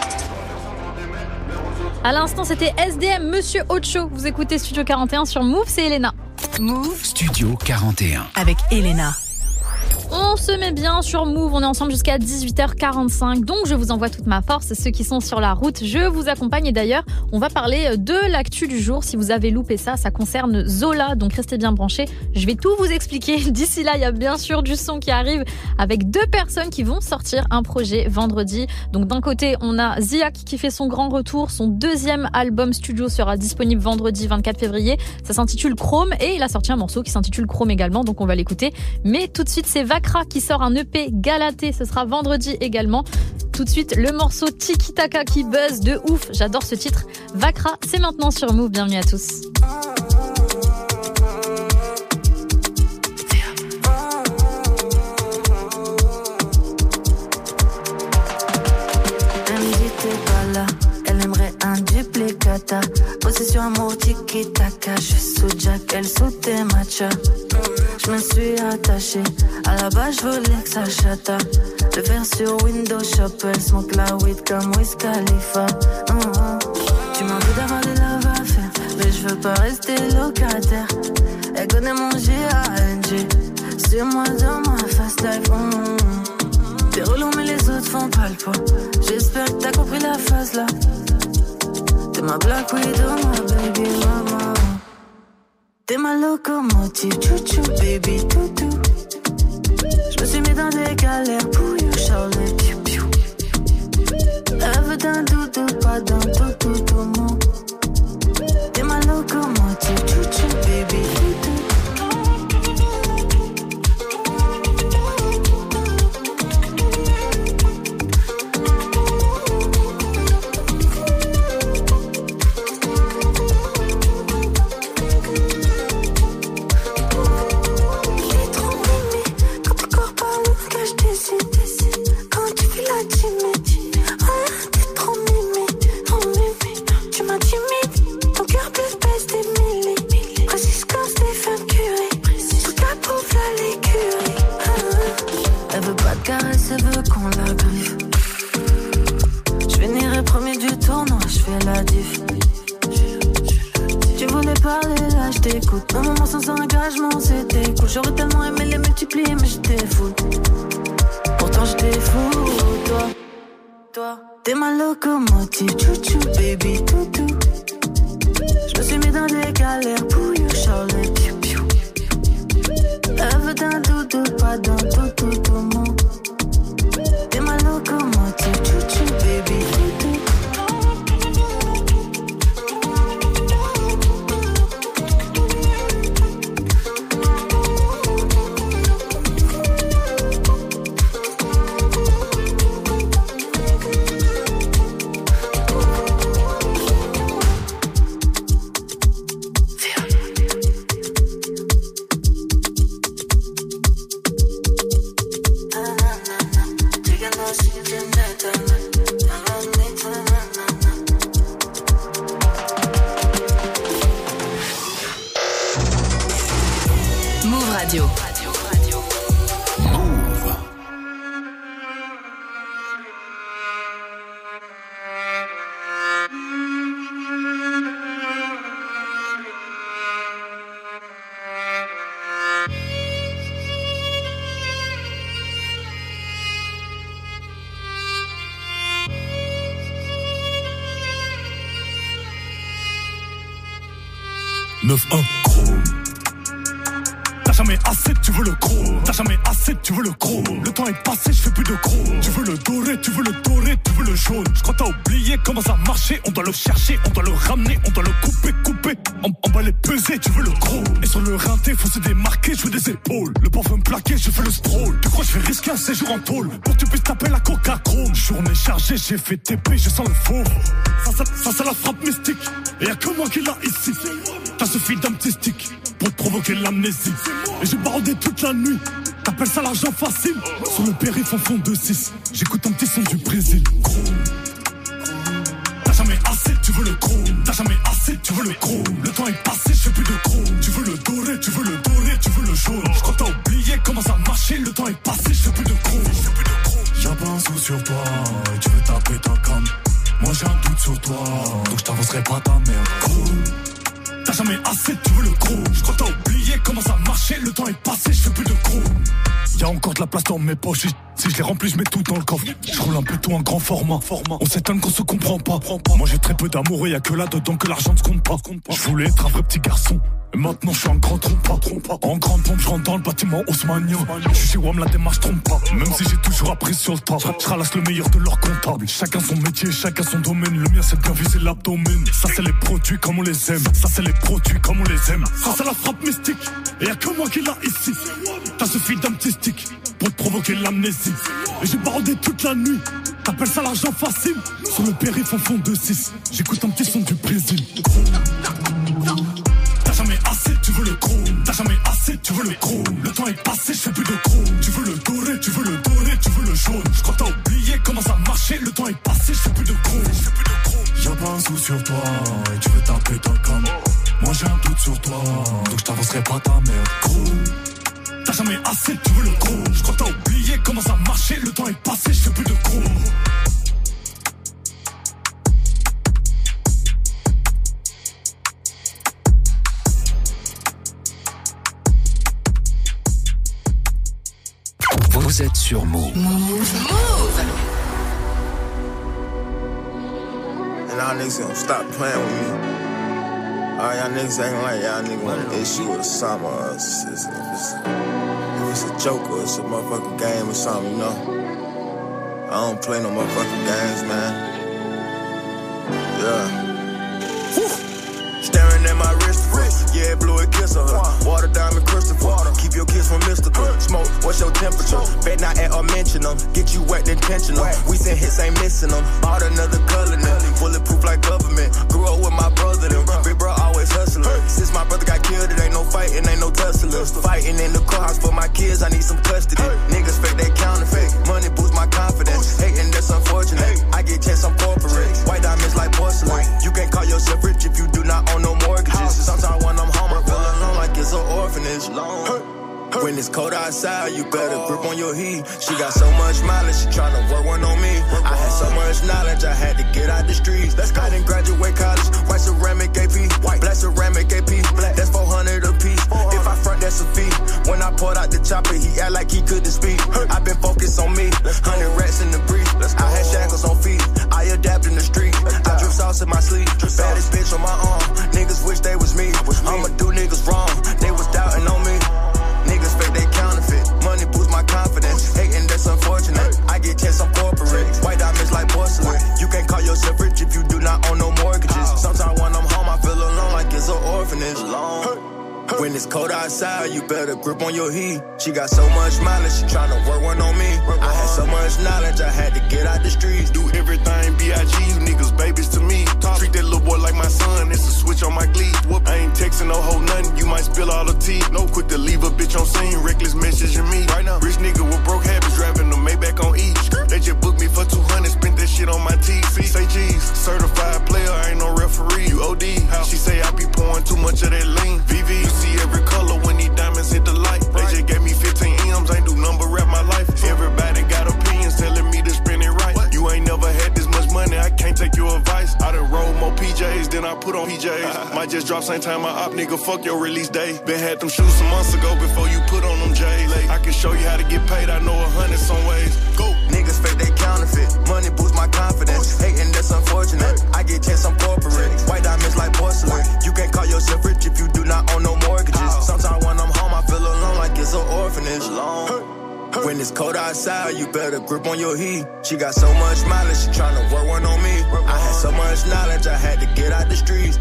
À l'instant, c'était SDM, Monsieur Ocho. Vous écoutez Studio 41 sur Move, c'est Elena. Move Studio 41 avec Elena. On se met bien sur Move, on est ensemble jusqu'à 18h45, donc je vous envoie toute ma force. Ceux qui sont sur la route, je vous accompagne. Et d'ailleurs, on va parler de l'actu du jour. Si vous avez loupé ça concerne Zola, donc restez bien branchés. Je vais tout vous expliquer. D'ici là, il y a bien sûr du son qui arrive avec 2 personnes qui vont sortir un projet vendredi. Donc d'un côté, on a Ziak qui fait son grand retour. Son 2e album studio sera disponible vendredi 24 février. Ça s'intitule Chrome et il a sorti un morceau qui s'intitule Chrome également, donc on va l'écouter. Mais tout de suite, c'est Vakra qui sort un EP Galaté, ce sera vendredi également. Tout de suite, le morceau Tiki Taka qui buzz de ouf. J'adore ce titre. Vakra, c'est maintenant sur Move. Bienvenue à tous. Elle me dit t'es pas là, elle aimerait un duplicata. Possession amour tiki taka, je suis sous Jack, elle sous tes matchas. Je me suis attachée, à la base je voulais que ça chata. Le faire sur Windows Shop, elle smoke la weed comme Wiz Khalifa. Tu m'en veux d'avoir des love à faire, mais je veux pas rester locataire. Elle connaît mon G.A.N.G, c'est moi dans ma fast life. T'es relou mais les autres font pas le poids. J'espère que t'as compris la phase là. T'es ma black widow, ma baby mama. T'es ma locomotive, chouchou, baby, toutou. Je me suis mis dans des galères pour you, Charlie, piou, piou. Elle veut d'un doudou, pas d'un toutou, tout mon. T'es ma locomotive, chouchou, baby, toutou. Elle veut qu'on la griffe. Je finirai premier du tournoi, je fais la diff. Tu voulais parler, là je t'écoute. Un moment sans engagement, c'était cool. J'aurais tellement aimé les multiplier, mais j'étais fou. Pourtant j'étais fou, toi. T'es ma locomotive, chouchou, baby, toutou. Je me suis mis dans des galères pour you, Charlie, piou, piou. Elle veut d'un doudou, pas d'un toutou, tout le monde. T'es ma locomotive, chouchou, baby, toutou. 9-1 chrome. T'as jamais assez, tu veux le chrome. T'as jamais assez, tu veux le chrome. Le temps est passé, je fais plus de chrome. Tu veux le doré, tu veux le doré, tu veux le jaune. Je crois que t'as oublié comment ça marchait. On doit le chercher, on doit le ramener, on doit le couper. On va les peser, tu veux le chrome. Et sur le rinté, faut se démarquer, je veux des épaules. Le parfum plaqué, je fais le stroll. Tu crois que je vais risquer un séjour en tôle pour que tu puisses taper la coca chrome. Journée chargée, j'ai fait TP, je sens le faux. Ça c'est la frappe mystique. Et y'a que moi qui l'a ici. T'as suffi d'un petit stick pour provoquer l'amnésie. Et j'ai barodé toute la nuit. T'appelles ça l'argent facile. Sur le périph' en fond de 6. J'écoute un petit son du Brésil. T'as jamais assez, tu veux le chrome. T'as jamais assez, tu veux le chrome. Le temps est passé, je fais plus de chrome. Tu veux le doré, tu veux le doré, tu veux le jaune. Je crois que t'as oublié comment ça marchait. Le temps est passé, je fais plus de chrome. Y'a pas un sou sur toi et tu veux taper ta cam. Moi j'ai un doute sur toi, donc je t'avancerai pas ta merde. Chrome. T'as jamais assez, tu veux le chrome. Je crois que t'as oublié comment ça marchait. Le temps est passé, je fais plus de chrome. Y'a encore de la place dans mes poches. Si je les remplis, je mets tout dans le coffre. Je roule un peu tout en grand format. On s'étonne qu'on se comprend pas. Moi j'ai très peu d'amour et y'a que là-dedans que l'argent ne se compte pas. Je voulais être un vrai petit garçon. Et maintenant je suis un grand trompe. En grande pompe, je rentre dans le bâtiment haussmannien. Je suis chez WAM, la démarche trompe pas. Même si j'ai toujours appris sur le tas. Je ralasse le meilleur de leur comptable. Chacun son métier, chacun son domaine. Le mien c'est bien viser l'abdomen. Ça c'est les produits comme on les aime. Ça c'est les produits comme on les aime. Ça c'est la frappe mystique. Et y'a que moi qui l'a ici. T'as suffi d'un petit stick pour te provoquer l'amnésie. Et j'ai barodé toute la nuit. T'appelles ça l'argent facile. Sur le périph' en fond de 6. J'écoute un petit son du Brésil. T'as jamais assez, tu veux le chrome. T'as jamais assez, tu veux le chrome. Le temps est passé, je fais plus de chrome. Tu veux le doré, tu veux le doré, tu veux le jaune. Je crois que t'as oublié comment ça marchait. Le temps est passé, je fais plus de chrome. Y'a pas un sou sur toi et tu veux taper ta cam. Moi j'ai un doute sur toi, donc je t'avancerai pas ta merde. Chrome. T'as jamais assez, tu veux le chrome. Je crois que t'as oublié comment ça marchait. Le temps est passé, je fais plus de chrome. Vous êtes sur Move. And y'all niggas gonna stop playing with me. All y'all niggas acting like y'all niggas want an issue or something. Or if it's a joke or it's a motherfucking game or something, you know. I don't play no motherfucking games, man. Yeah. Staring at my wrist, yeah, blew a kiss on her. Water diamond Christopher, keep your kiss from mystical. Smoke, what's your temperature? Bet not at or mention them. Get you wet intentional. We send hits, ain't missing them. Bought another color now, bulletproof like government. Grew up with my brother, them. Big bro always hustling. Since my brother got killed, it ain't no fighting, ain't no tussling. Fighting in the courthouse for my kids, I need some custody. Niggas fake, they counterfeit. Money boosts my confidence. Hating, that's unfortunate. I get checks, I'm corporate. White diamonds like porcelain. You can't call yourself rich if you do not own no mortgages. Sometimes when I'm home, I feel alone like it's an orphanage. When it's cold outside, you better grip on your heat. She got so much mileage, she tryna work one on me. I had so much knowledge, I had to get out the streets. I didn't graduate college, white ceramic AP, black ceramic AP, that's 400 a piece. If I front, that's a fee. When I pulled out the chopper, he act like he couldn't speak. I been focused on me, 100 rats in the brief. I had shackles on feet, I adapt in the street. I drip sauce in my sleeve, baddest bitch on my arm. Niggas wish they was me, I'ma do niggas wrong. They was doubting on me. Niggas fake, they counterfeit. Money boosts my confidence. Hating, that's unfortunate. I get checks, I'm corporate. White diamonds like porcelain. You can't call yourself rich if you do not own no mortgages. Sometimes when I'm home, I feel alone like it's an orphanage. When it's cold outside, you better grip on your heat. She got so much mileage, she tryna work one on me. I had so much knowledge, I had to get out the streets. Do everything B.I.G., you niggas babies to me. Treat that little boy like my son, it's a switch on my glee. I ain't texting no hoe nothing, you might spill all the tea. No quick to leave a bitch on scene, reckless messaging me. Right now, rich nigga with broke habits, driving the Maybach on E. They just booked me for 200, spent that shit on my TV. Say G's, certified player, I ain't no referee. You OD, she say I be pouring too much of that lean. VV, you see every color when these diamonds hit the light. They just gave me 15 M's, ain't do number rap my life. Everybody got opinions telling me to spend it right. You ain't never had this much money, I can't take your advice. I done roll more PJs than I put on PJs. Might just drop same time my op, nigga, fuck your release day. Been had them shoes some months ago before you put on them J's. I can show you how to get paid, I know 100 some ways. Go. Niggas fake, they counterfeit. Money boosts my confidence. Hating, that's unfortunate. I get checks, I'm corporate. White diamonds like porcelain. You can't call yourself rich if you do cold outside, you better grip on your heat. She got so much mileage, she tryna work one on me. I had so much knowledge, I had to get out the streets.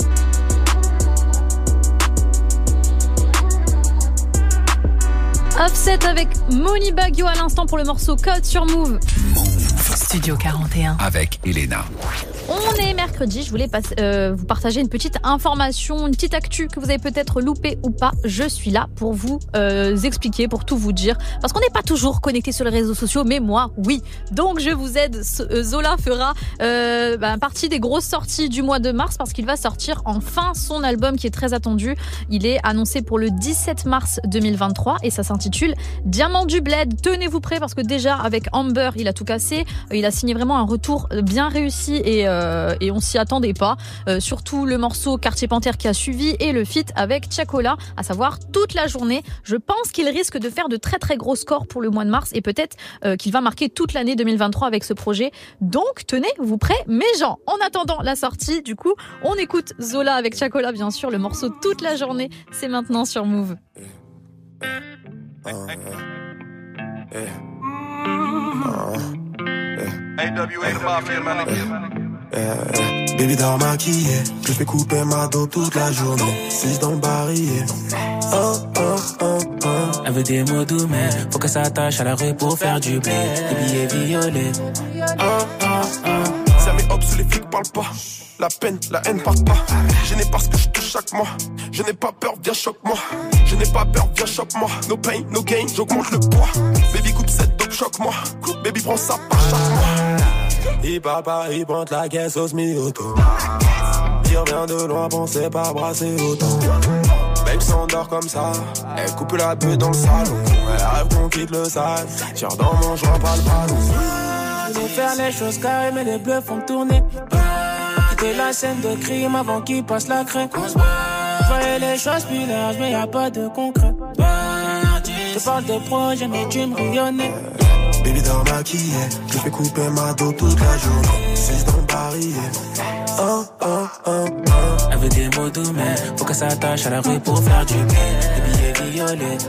Offset avec Moni Baggio à l'instant pour le morceau Code sur Move. Studio 41 avec Elena. On est mercredi, je voulais vous partager une petite information, une petite actu que vous avez peut-être loupé ou pas. Je suis là pour vous expliquer, pour tout vous dire. Parce qu'on n'est pas toujours connecté sur les réseaux sociaux, mais moi, oui. Donc je vous aide. Zola fera partie des grosses sorties du mois de mars parce qu'il va sortir enfin son album qui est très attendu. Il est annoncé pour le 17 mars 2023 et ça s'intitule Diamant du Bled. Tenez-vous prêts parce que déjà avec Amber, il a tout cassé. Il a signé vraiment un retour bien réussi et on s'y attendait pas. Surtout le morceau Quartier Panthère qui a suivi et le feat avec Tiakola, à savoir toute la journée. Je pense qu'il risque de faire de très très gros scores pour le mois de mars et peut-être qu'il va marquer toute l'année 2023 avec ce projet. Donc tenez-vous prêts mes gens. En attendant la sortie, du coup, on écoute Zola avec Tiakola bien sûr, le morceau toute la journée. C'est maintenant sur Move. Baby dort maquillée, je fais couper ma dos toute la journée. 6 dans le barillet. Elle veut des mots doux mais faut que ça attache à la rue pour faire du blé. Des billets violets. Ça met hop sous les flics parlent pas. La peine, la haine part pas. Je n'ai pas ce que je touche chaque mois. Je n'ai pas peur, viens choque-moi. Je n'ai pas peur, viens choque-moi. No pain, no gain, j'augmente le poids. Baby coupe cette dope, choque-moi. Baby prends ça par chaque mois. Il parle pas, il pointe la caisse au semi-auto. Il revient de loin, pensez pas brasser autant. Babe s'endort comme ça. Elle coupe la bulle dans le salon. Elle rêve qu'on quitte le sale. Tire dans mon joint, pas le ballon. Je veux faire les choses carrées mais les bleus font tourner. Quitter la scène de crime avant qu'il passe la craie. Je voyais les choses plus larges mais y'a pas de concret. Je parle de projet mais tu me rayonnais. Baby dort maquillée, je fais couper ma dos toute la journée. 6 dans le barillet. Elle veut des mots doux mais faut que ça attache à la rue pour faire du blé. Des billets violets.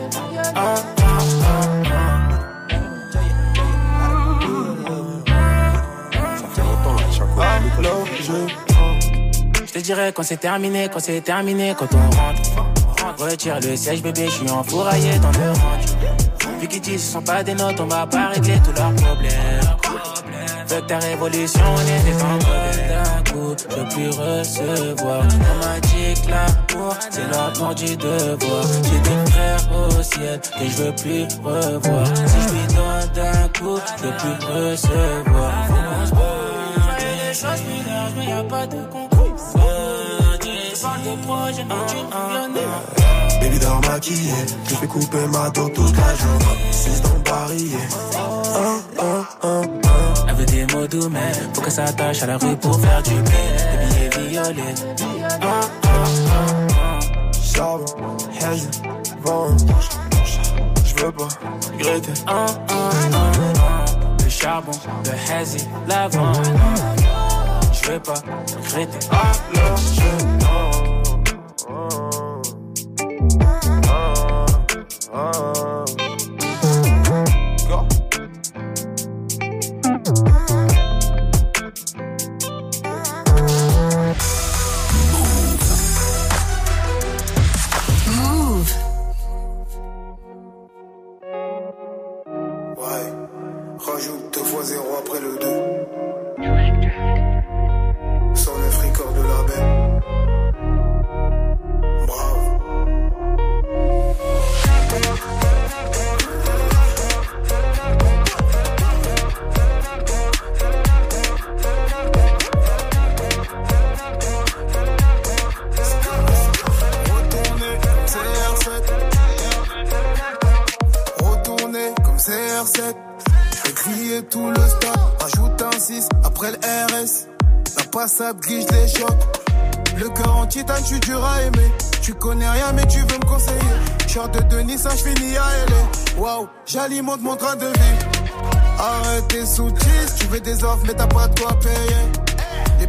Je te dirais quand c'est terminé, quand on rentre. Retire le siège bébé, je suis enfouraillé dans le range. Vu qu'ils disent ce sont pas des notes, on va pas régler tous leurs problèmes. Veux que ta révolution, on était en mauvais d'un coup. Je veux plus recevoir. On m'a dit que l'amour, c'est l'amour du devoir. J'ai des frères au ciel que je veux plus revoir. Si je lui donne d'un coup, je veux plus recevoir. Faut qu'on se voit. Les choses plus larges, mais y'a pas de concours. Je parle de projet, mais tu me viens. Baby dort maquillée, je fais couper ma dos toute la journée. 6 dans le barillet. Elle veut des mots doux mais faut que ça attache à la rue pour faire du blé. Des billets violets. Charbon, hazy, vent. Je veux pas regretter. Le charbon, le hazy, l'avant. Je veux pas regretter. Rajoute 2 fois 0 après le 2. 109 records de label. Bravo. Retourner comme CR7. Crier tout le stade, ajoute un 6 après le RS. La passade glisse les chocs. Le cœur en titane, tu dur à aimer. Tu connais rien mais tu veux me conseiller. Short de Denis, ça j'finis à LA. Waouh, j'alimente mon train de vie. Arrête tes sous-titres, tu veux des offres mais t'as pas de quoi payer.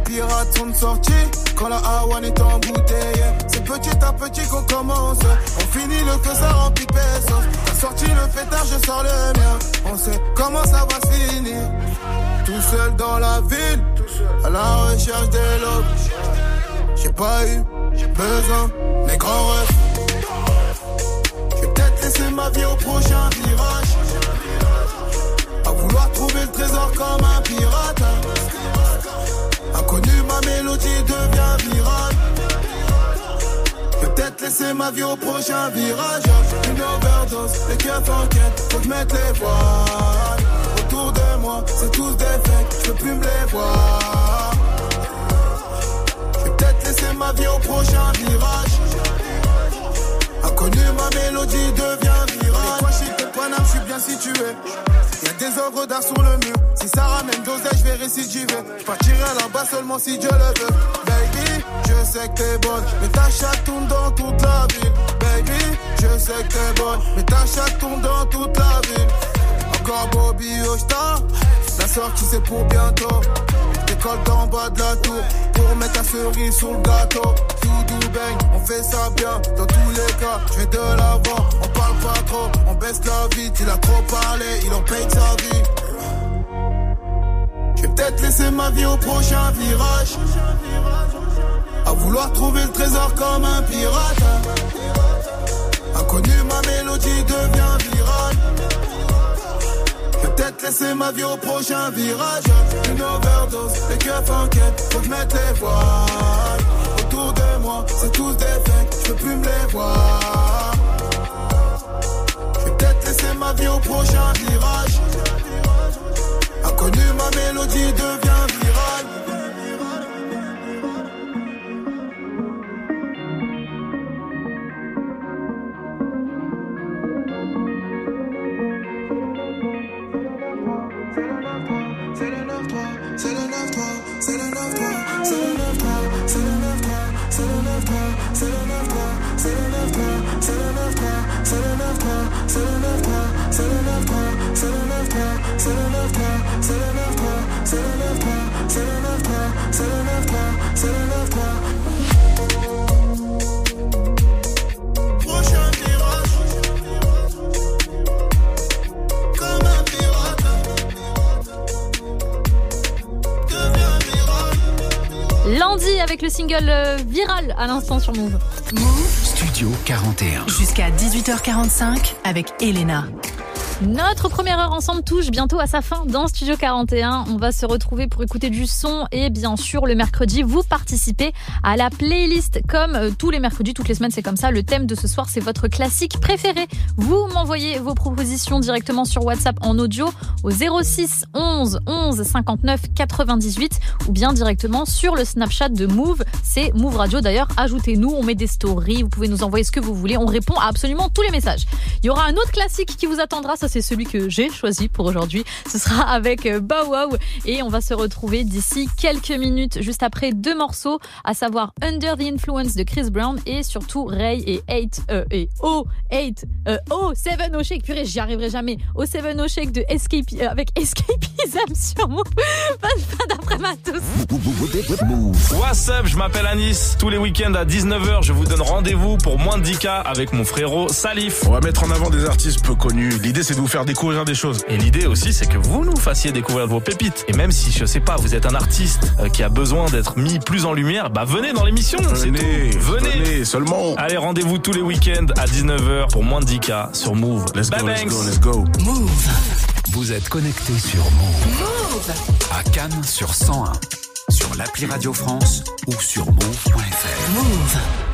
pirates sont sortis quand la Hawan est embouteillée. C'est petit à petit qu'on commence. On finit le feu, ça remplit pesos. T'as sorti le pétard, je sors le mien. On sait comment ça va se finir. Tout seul dans la ville, à la recherche des lobes. J'ai pas eu besoin, mes grands refs. J'ai peut-être laissé ma vie au prochain virage. À vouloir trouver le trésor comme un pirate. Inconnu, ma mélodie devient virale. Peut-être laisser ma vie au prochain virage. Une overdose, les keufs enquêtent, faut que je mette les voiles. Autour de moi, c'est tous des fakes, je peux plus me les voir. J'ai peut-être laissé ma vie au prochain virage. Inconnu, ma mélodie devient virale. Quoi chic de Paname, je suis bien situé. Y'a des œuvres d'art sur le mur. Si ça ramène d'oseille, je vais récidiver. J'partirai là-bas seulement si Dieu le veut. Baby, je sais que t'es bonne, mais ta chatte tourne dans toute la ville. Baby, je sais que t'es bonne, mais ta chatte tourne dans toute la ville. Encore Bobby Oshta, la sortie c'est pour bientôt. Décolle d'en bas de la tour, pour mettre la cerise sur le gâteau. Tout bang, on fait ça bien, dans tous les cas, je vais de l'avant. On parle pas trop, on baisse la vie. Il a trop parlé, il en paye sa vie. Je vais peut-être laisser ma vie au prochain virage. À vouloir trouver le trésor comme un pirate. Inconnu, ma mélodie devient virale. Je vais peut-être laisser ma vie au prochain virage. Une overdose, les keufs enquêtent, faut que je mette les voiles. Autour de moi, c'est tous des fakes, je peux plus me les voir. Je vais peut-être laisser ma vie au prochain virage. Inconnu, ma mélodie devient virale. Landy avec le single viral à l'instant sur Move. Studio 41. Jusqu'à 18h45 avec Elena. Notre première heure ensemble touche bientôt à sa fin dans Studio 41. On va se retrouver pour écouter du son et bien sûr le mercredi, vous participez à la playlist comme tous les mercredis, toutes les semaines c'est comme ça. Le thème de ce soir c'est votre classique préféré. Vous m'envoyez vos propositions directement sur WhatsApp en audio au 06 11 11 59 98 ou bien directement sur le Snapchat de Move. C'est Move Radio d'ailleurs, ajoutez-nous, on met des stories, vous pouvez nous envoyer ce que vous voulez, on répond à absolument tous les messages. Il y aura un autre classique qui vous attendra, ça c'est celui que j'ai choisi pour aujourd'hui. Ce sera avec Bow Wow et on va se retrouver d'ici quelques minutes juste après deux morceaux, à savoir Under the Influence de Chris Brown et surtout Ray et Seven O Shake. Purée, j'y arriverai jamais. Seven O Shake de avec Escapism sur Move. Pas d'après Matos. What's up, je m'appelle Anis. Tous les week-ends à 19h, je vous donne rendez-vous pour moins de 10K avec mon frérot Salif. On va mettre en avant des artistes peu connus. L'idée c'est de vous faire découvrir des choses. Et l'idée aussi c'est que vous nous fassiez découvrir vos pépites. Et même si je sais pas, vous êtes un artiste qui a besoin d'être mis plus en lumière, bah venez dans l'émission, c'est tout. Venez seulement. Allez, rendez-vous tous les week-ends à 19h pour moins de 10K sur Move. Let's go. Move. Vous êtes connectés sur Move. Move. À Cannes sur 101, sur l'appli Radio France ou sur move.fr. Move.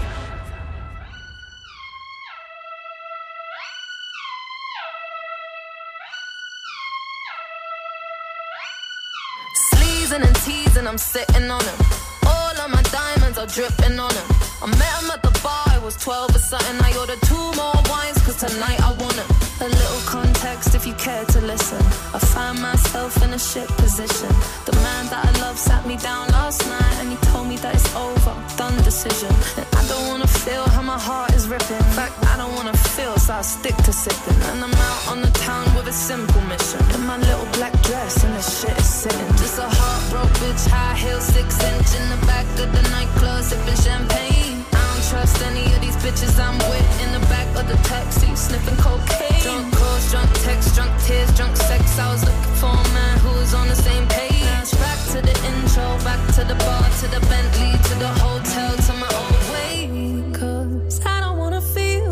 And teasing, I'm sitting on him. All of my diamonds are dripping on him. I met him at the bar, I was 12 or something. I ordered 2 more wines, cause tonight I want him. A little context if you care to listen. I find myself in a shit position. The man that I love sat me down last night and he told me that it's over, done decision. And I don't wanna feel how my heart is ripping. In fact, I don't wanna feel so I stick to sipping. And I'm out on the town with a simple mission. In my little black dress and the shit is sitting. Just a heartbroken bitch, high heel, 6-inch in the back of the nightclub, sipping champagne. I don't trust any of these bitches I'm with. In the back of the taxi, sniffing cocaine. Drunk calls, drunk texts, drunk tears, drunk sex. I was looking for a man who was on the same page. Back to the intro, back to the bar, to the Bentley, to the hotel, to my old way. 'Cause I don't wanna feel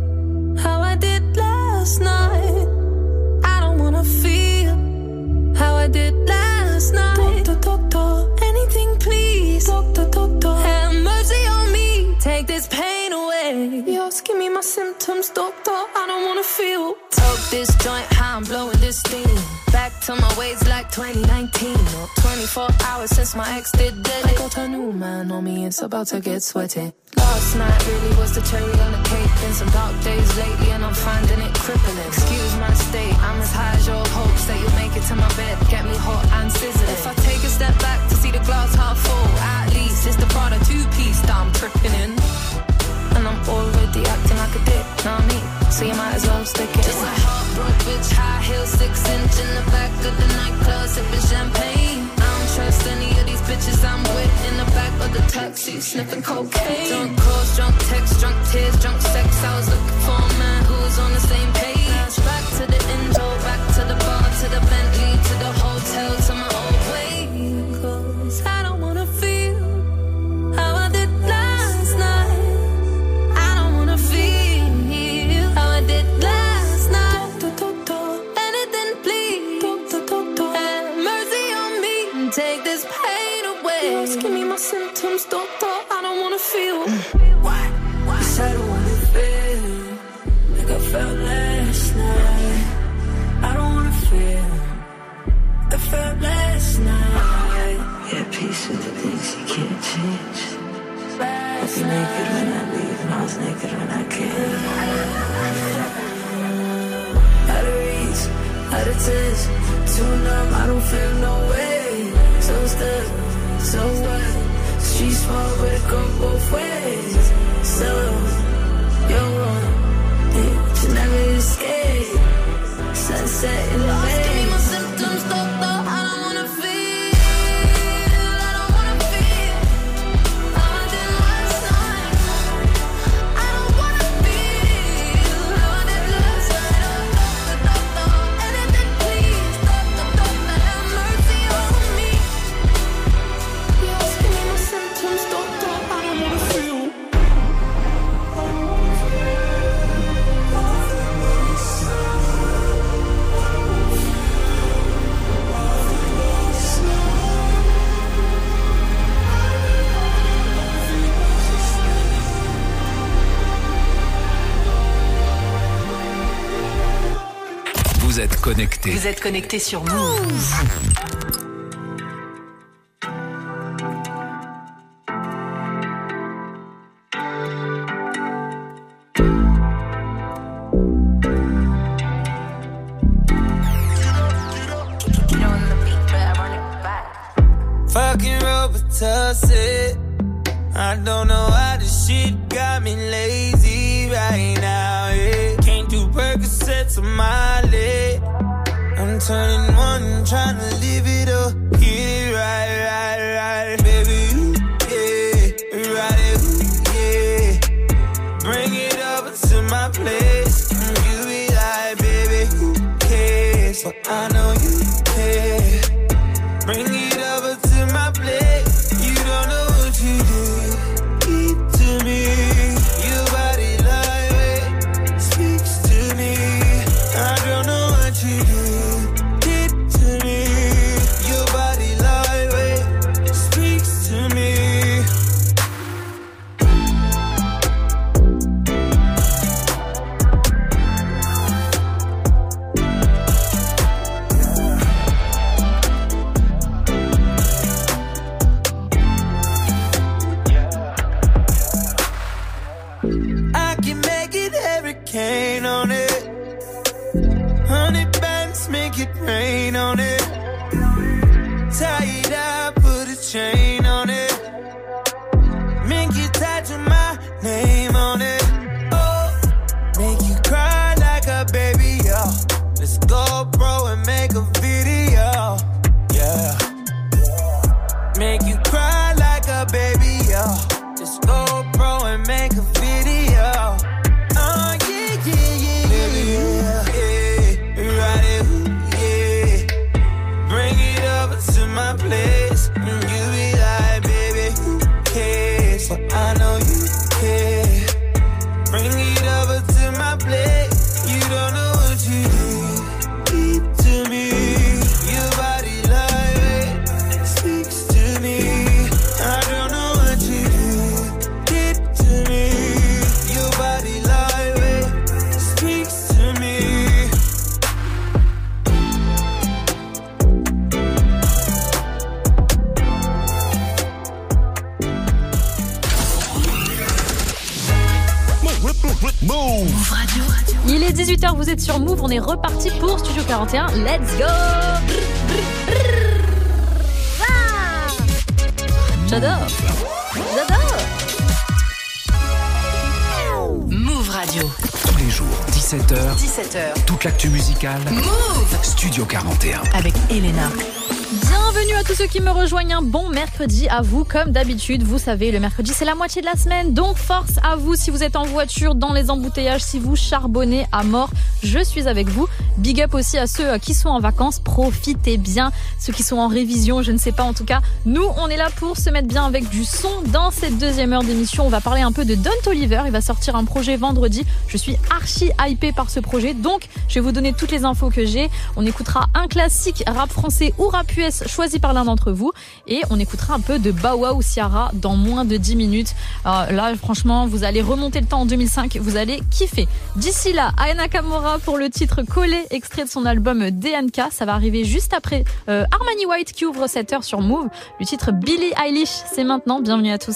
how I did last night. I don't wanna feel how I did last night. Doctor, anything please. Doctor, have mercy on me. Take this pain away. You're give me my symptoms, doctor. I don't wanna feel. Toke this joint, how I'm blowing this steam. Back to my ways like 2019. Or 24 hours since my ex did dead. I got a new man on me, it's about to get sweaty. Last night really was the cherry on the cake. Been some dark days lately and I'm finding it crippling. Excuse my state, I'm as high as your hopes that you'll make it to my bed. Get me hot and sizzling. If I take a step back to see the glass half full, at least it's the Prada 2-piece that I'm tripping in. And I'm already acting like a dick, know what I mean? So you might as well stick it. Just a heartbroken bitch, high heel, 6-inch in the back of the nightclub, sipping champagne. I don't trust any of these bitches I'm with. In the back of the taxi, sniffing cocaine. Drunk calls, drunk texts, drunk tears, drunk sex. I was looking for a man who was on the same page. Back to the intro, back to the bar, to the Bentley, to the hotel, to my old way. 'Cause I don't wanna feel how I did last night. I don't wanna feel how I did last night. Doctor, anything please. Doctor, have mercy on me. Take this pain away. Just give me my symptoms, doctor. I don't wanna feel. What? Yes, I don't wanna feel like I felt last night. I don't wanna feel like I felt last night. Yeah, peace with the things you can't change. I was naked when I leave and I was naked when I came. Out of reach, out of touch, too numb, I don't feel no way. So stuck, so what? Street small, but it go both ways. So, you're wrong, but you never escape. Sunset in the way. Give me my symptoms, doctor. I don't wanna feel. Vous êtes connecté. Vous êtes connecté sur Move. Fucking Robitussin. I don't know why this shit got me lazy right now, yeah. Can't do Percocets on my leg. I'm turning one, trying to live it up. Get it right, baby, yeah. Ride it, yeah. Bring it over to my place. You be like, baby, who cares? But I know you care. Bring it over to my place. You don't know what you did. Keep to me. Your body lightweight speaks to me. I don't know what you did to me. Your body lightweight speaks to me. Hurricane on it. 100 bands, make it rain on it. Tie it up, put a chain on it. Make you tattoo my name on it. Oh, make you cry. Move Radio. Il est 18h, vous êtes sur Move, on est reparti pour Studio 41. Let's go. J'adore. Move Radio. Tous les jours, 17h. Toute l'actu musicale. Move Studio 41. avec Elena. Bienvenue à tous ceux qui me rejoignent, un bon mercredi à vous. Comme d'habitude, vous savez, le mercredi c'est la moitié de la semaine, donc force à vous si vous êtes en voiture, dans les embouteillages, si vous charbonnez à mort, je suis avec vous. Big up aussi à ceux qui sont en vacances, profitez bien, ceux qui sont en révision, je ne sais pas, en tout cas, nous on est là pour se mettre bien avec du son. Dans cette deuxième heure d'émission, on va parler un peu de Don Toliver, il va sortir un projet vendredi, je suis archi hypée par ce projet, donc je vais vous donner toutes les infos que j'ai. On écoutera un classique rap français ou rap US choisi par l'un d'entre vous et on écoutera un peu de Bow Wow ou Ciara dans moins de 10 minutes. Là franchement vous allez remonter le temps en 2005, vous allez kiffer. D'ici là, Aya Nakamura pour le titre Collé, extrait de son album DNK, ça va arriver juste après Armani White qui ouvre cette heure sur Move. Le titre Billie Eilish, c'est maintenant, bienvenue à tous.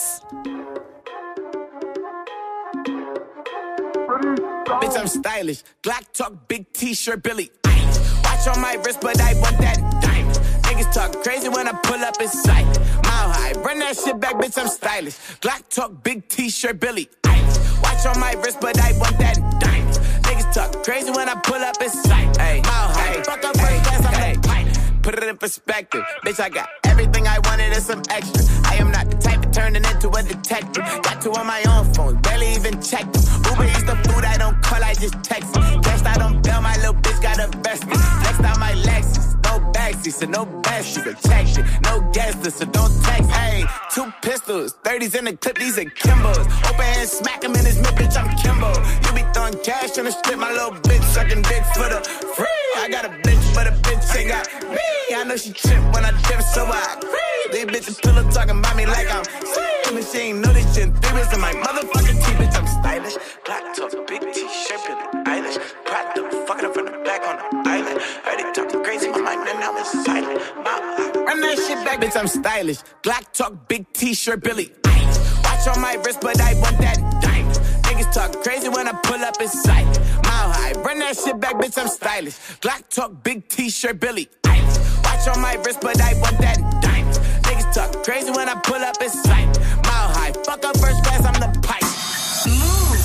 Bitch, I'm stylish. Glock talk, big t-shirt, Billie Eilish. Watch on my wrist, but I want that diamond. Niggas talk crazy when I pull up in sight. Mile high, run that shit back, bitch, I'm stylish. Glock talk, big t-shirt, Billie Eilish. Watch on my wrist, but I want that diamond. Niggas talk crazy when I pull up in sight. Mile high, fuck up first class, I'm the pilot. Put it in perspective, bitch, I got everything I wanted and some extra. I am not the type of turning into a detective. Got two on my own phone, barely even checked them. Uber Eats the food, I don't call, I just text them. Cashed out on bail, my little bitch got a vest me. Flexed out my Lexus, no backseat, so no besties. So check shit, no guest list, so don't text. Hey, 2 pistols, 30s in the clip, these are Kimbos. Open hand, smack him in his mid, bitch, I'm Kimbo. You be throwing cash on the strip, my little bitch sucking dick for the free. I got a bitch, but a bitch ain't got me. I know she trip when I dip, so I these bitches pillow talking about me like I'm sweet. She ain't know this shit. 3 weeks in my motherfucking teeth, bitch, I'm stylish. Black top, big t-shirt, Billie Eilish. Pride them, fucking up from the back on the island. Heard they talking crazy, my mind and now it's silent. Run that shit back, bitch, I'm stylish. Glock talk, big t-shirt, Billie Eilish. Watch on my wrist, but I want that diamond. Niggas talk crazy when I pull up in sight. Mile high, run that shit back, bitch, I'm stylish. Glock talk, big t-shirt, Billie Eilish. Watch on my wrist, but I want that diamond. Niggas talk crazy when I pull up in sight. Mile high, fuck up first class, I'm the pipe. Move.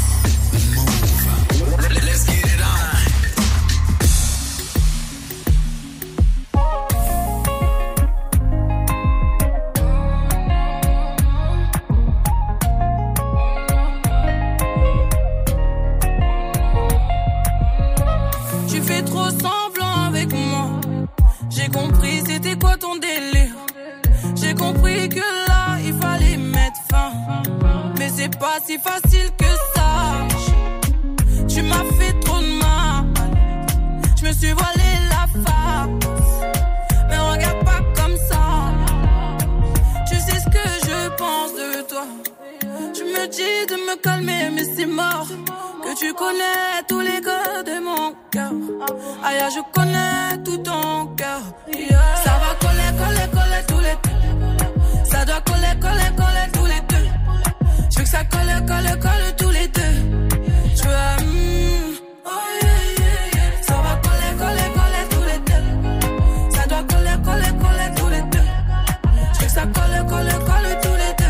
Let's get it on. Tu fais trop semblant avec moi. J'ai compris c'était quoi ton délire. J'ai compris que là il fallait mettre fin. Mais c'est pas si facile que ça. Tu m'as fait trop de mal. Je me suis voilé la face. Mais regarde pas comme ça. Tu sais ce que je pense de toi. Tu me dis de me calmer mais c'est mort. Que tu connais tous les codes de mon cœur. Aïe, je connais tout ton cœur. Yeah. Ça va coller, coller, coller tous les deux. Ça doit coller, coller, coller tous les deux. Je veux que ça colle, colle, colle tous les deux. Je veux oh yeah, yeah, yeah. Ça va coller, coller, coller tous les deux. Ça doit coller, coller, coller tous les deux. Je veux que ça colle, colle, colle tous les deux.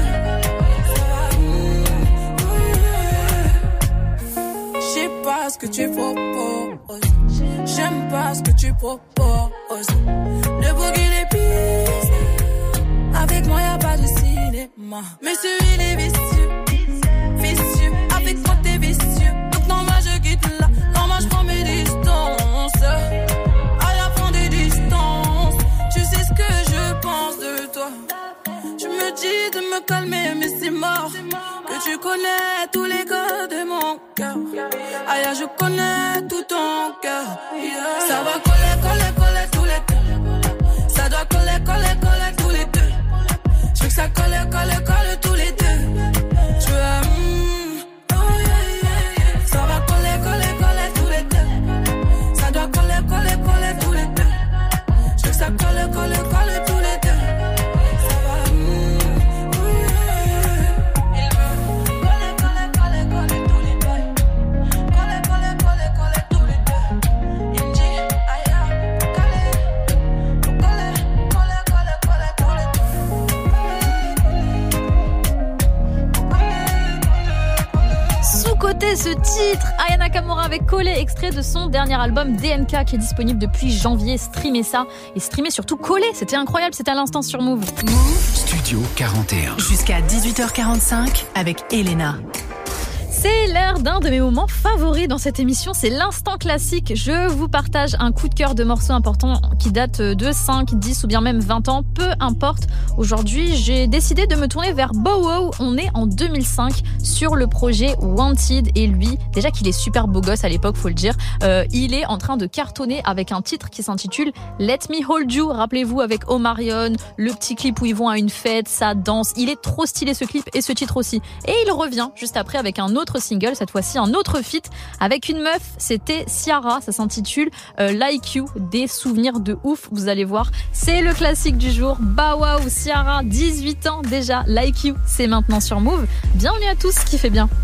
Je sais pas ce que tu proposes. J'aime pas ce que tu proposes. Le boogie les pistes. Avec moi y'a pas de cinéma. Mais celui-là est vicieux. Vicieux. Avec moi t'es vicieux. Donc non moi je quitte là. Non moi je prends mes distances. À la fin des distances. Tu sais ce que je pense de toi. Tu me dis de me calmer mais c'est mort. Que tu connais tous les codes de mon cœur. Aïe, je connais tout ton cœur. Yeah. Ça va coller, coller, coller tous les deux. Ça doit coller, coller, coller tous les deux. Je veux que ça colle, colle, colle tous les deux. Je veux oh yeah, yeah, yeah. Ça va coller, coller, coller tous les deux. Ça doit coller, coller, coller tous les deux. Je veux que ça colle, colle, colle tous les deux. Écoutez ce titre, Aya Nakamura avec Collé, extrait de son dernier album DNK qui est disponible depuis janvier. Streamez ça et streamez surtout Collé. C'était incroyable, c'était à l'instant sur Move. Studio 41. Jusqu'à 18h45 avec Elena. C'est l'heure d'un de mes moments favoris dans cette émission, c'est l'instant classique. Je vous partage un coup de cœur de morceaux importants qui datent de 5, 10 ou bien même 20 ans, peu importe. Aujourd'hui, j'ai décidé de me tourner vers Bow Wow. On est en 2005 sur le projet Wanted et lui, déjà qu'il est super beau gosse à l'époque, faut le dire, il est en train de cartonner avec un titre qui s'intitule Let Me Hold You. Rappelez-vous avec Omarion, le petit clip où ils vont à une fête, ça danse. Il est trop stylé ce clip et ce titre aussi. Et il revient juste après avec un autre single, cette fois-ci un autre feat avec une meuf, c'était Ciara, ça s'intitule Like You, des souvenirs de ouf, vous allez voir, c'est le classique du jour. Bow Wow, Ciara, 18 ans déjà, Like You, c'est maintenant sur Move. Bienvenue à tous, qui fait bien.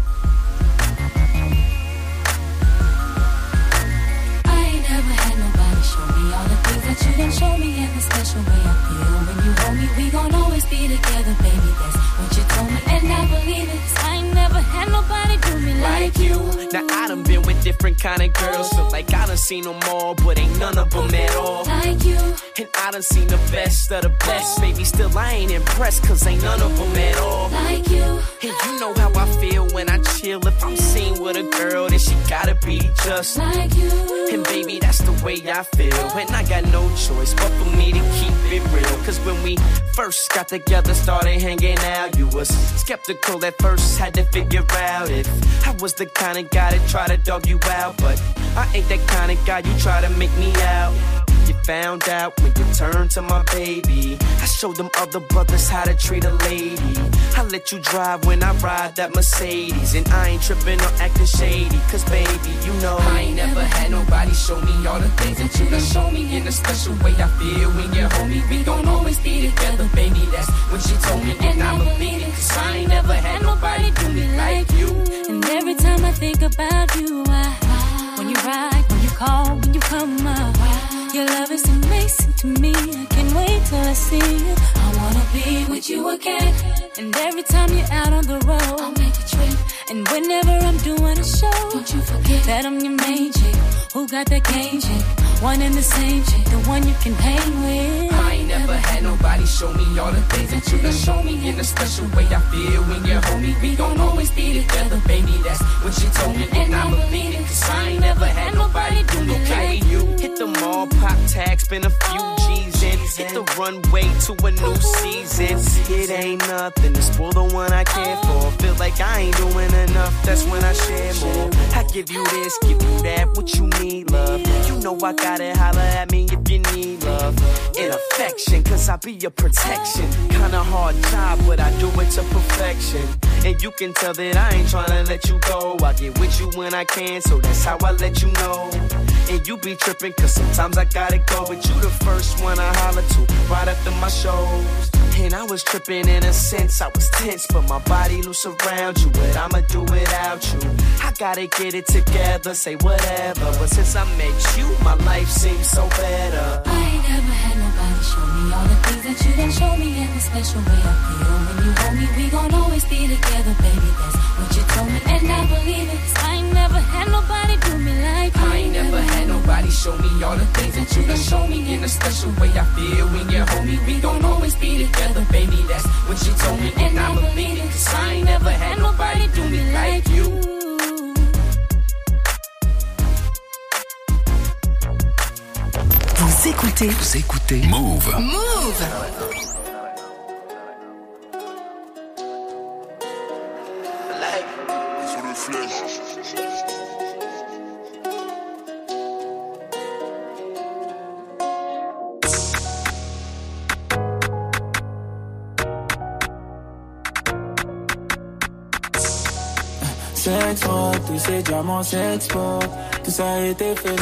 Like you. Now I done been with different kind of girls. Feel like I done seen them all, but ain't none of them at all. Like you. And I done seen the best of the best. Maybe still I ain't impressed, cause ain't none of them at all. Like you. And you know how I feel when I chill. If I'm seen with a girl, then she gotta be just like you. And baby, that's the way I feel. And I got no choice but for me to keep it real. Cause when we first got together, started hanging out, you was skeptical at first, had to figure out if I was the kind of guy that try to dog you out. But I ain't that kind of guy you try to make me out. You found out when you turned to my baby. I showed them other brothers how to treat a lady. I let you drive when I ride that Mercedes. And I ain't tripping or acting shady, cause baby, you know I ain't never had nobody show me all the things that you done show me. In a special way I feel when you're home. We gon' always be together, baby, that's what she told me. And I'ma beat it, cause I ain't never had nobody do me like you. And every time I think about you, when you ride, when you call, when you come up, your love is amazing to me. I can't wait till I see you. I wanna be with you again. And every time you're out on the road, I'll make a trip. And whenever I'm doing a show, don't you forget that I'm your main chick. Who got that game chick? One and the same chick, the one you can hang with. I ain't never had nobody show me all the things that you done show me. In a special way I feel when you're home. We gon' always be together, baby, that's what she told me. And I'ma beat it, cause I ain't never had nobody do me like you. Hit the mall, pop tag, spend a few G's in. Hit the runway to a new season. It ain't nothing to spoil the one I care for. Feel like I ain't doing enough, that's when I share more. I give you this, give you that, what you need, love. You know I gotta holler at me if you need love and affection, cause I be your protection. Kinda hard job, but I do it to perfection. And you can tell that I ain't tryna let you go. I get with you when I can, so that's how I let you know. And you be tripping, cause sometimes I gotta go. But you the first one I holler to, right after my shows. And I was tripping in a sense, I was tense, but my body loose around you. But I'ma do without you. I gotta get it together, say whatever. But since I met you, my life seems so better. I ain't never had nobody show me all the things that you done show me. In the special way I feel when you hold me. We gon' always be together, baby, that's what you told me. And I believe it, cause I ain't never had nobody do me like you. I ain't never had nobody show me all the things that you done show me. In a special way I feel when you're home. We gon' always be together, baby, that's what she told me. And I'ma beat it, cause I ain't never had nobody do me like you. Vous écoutez Move. Move. S'exporte, tous ces diamants s'exportent, tout ça a été fait.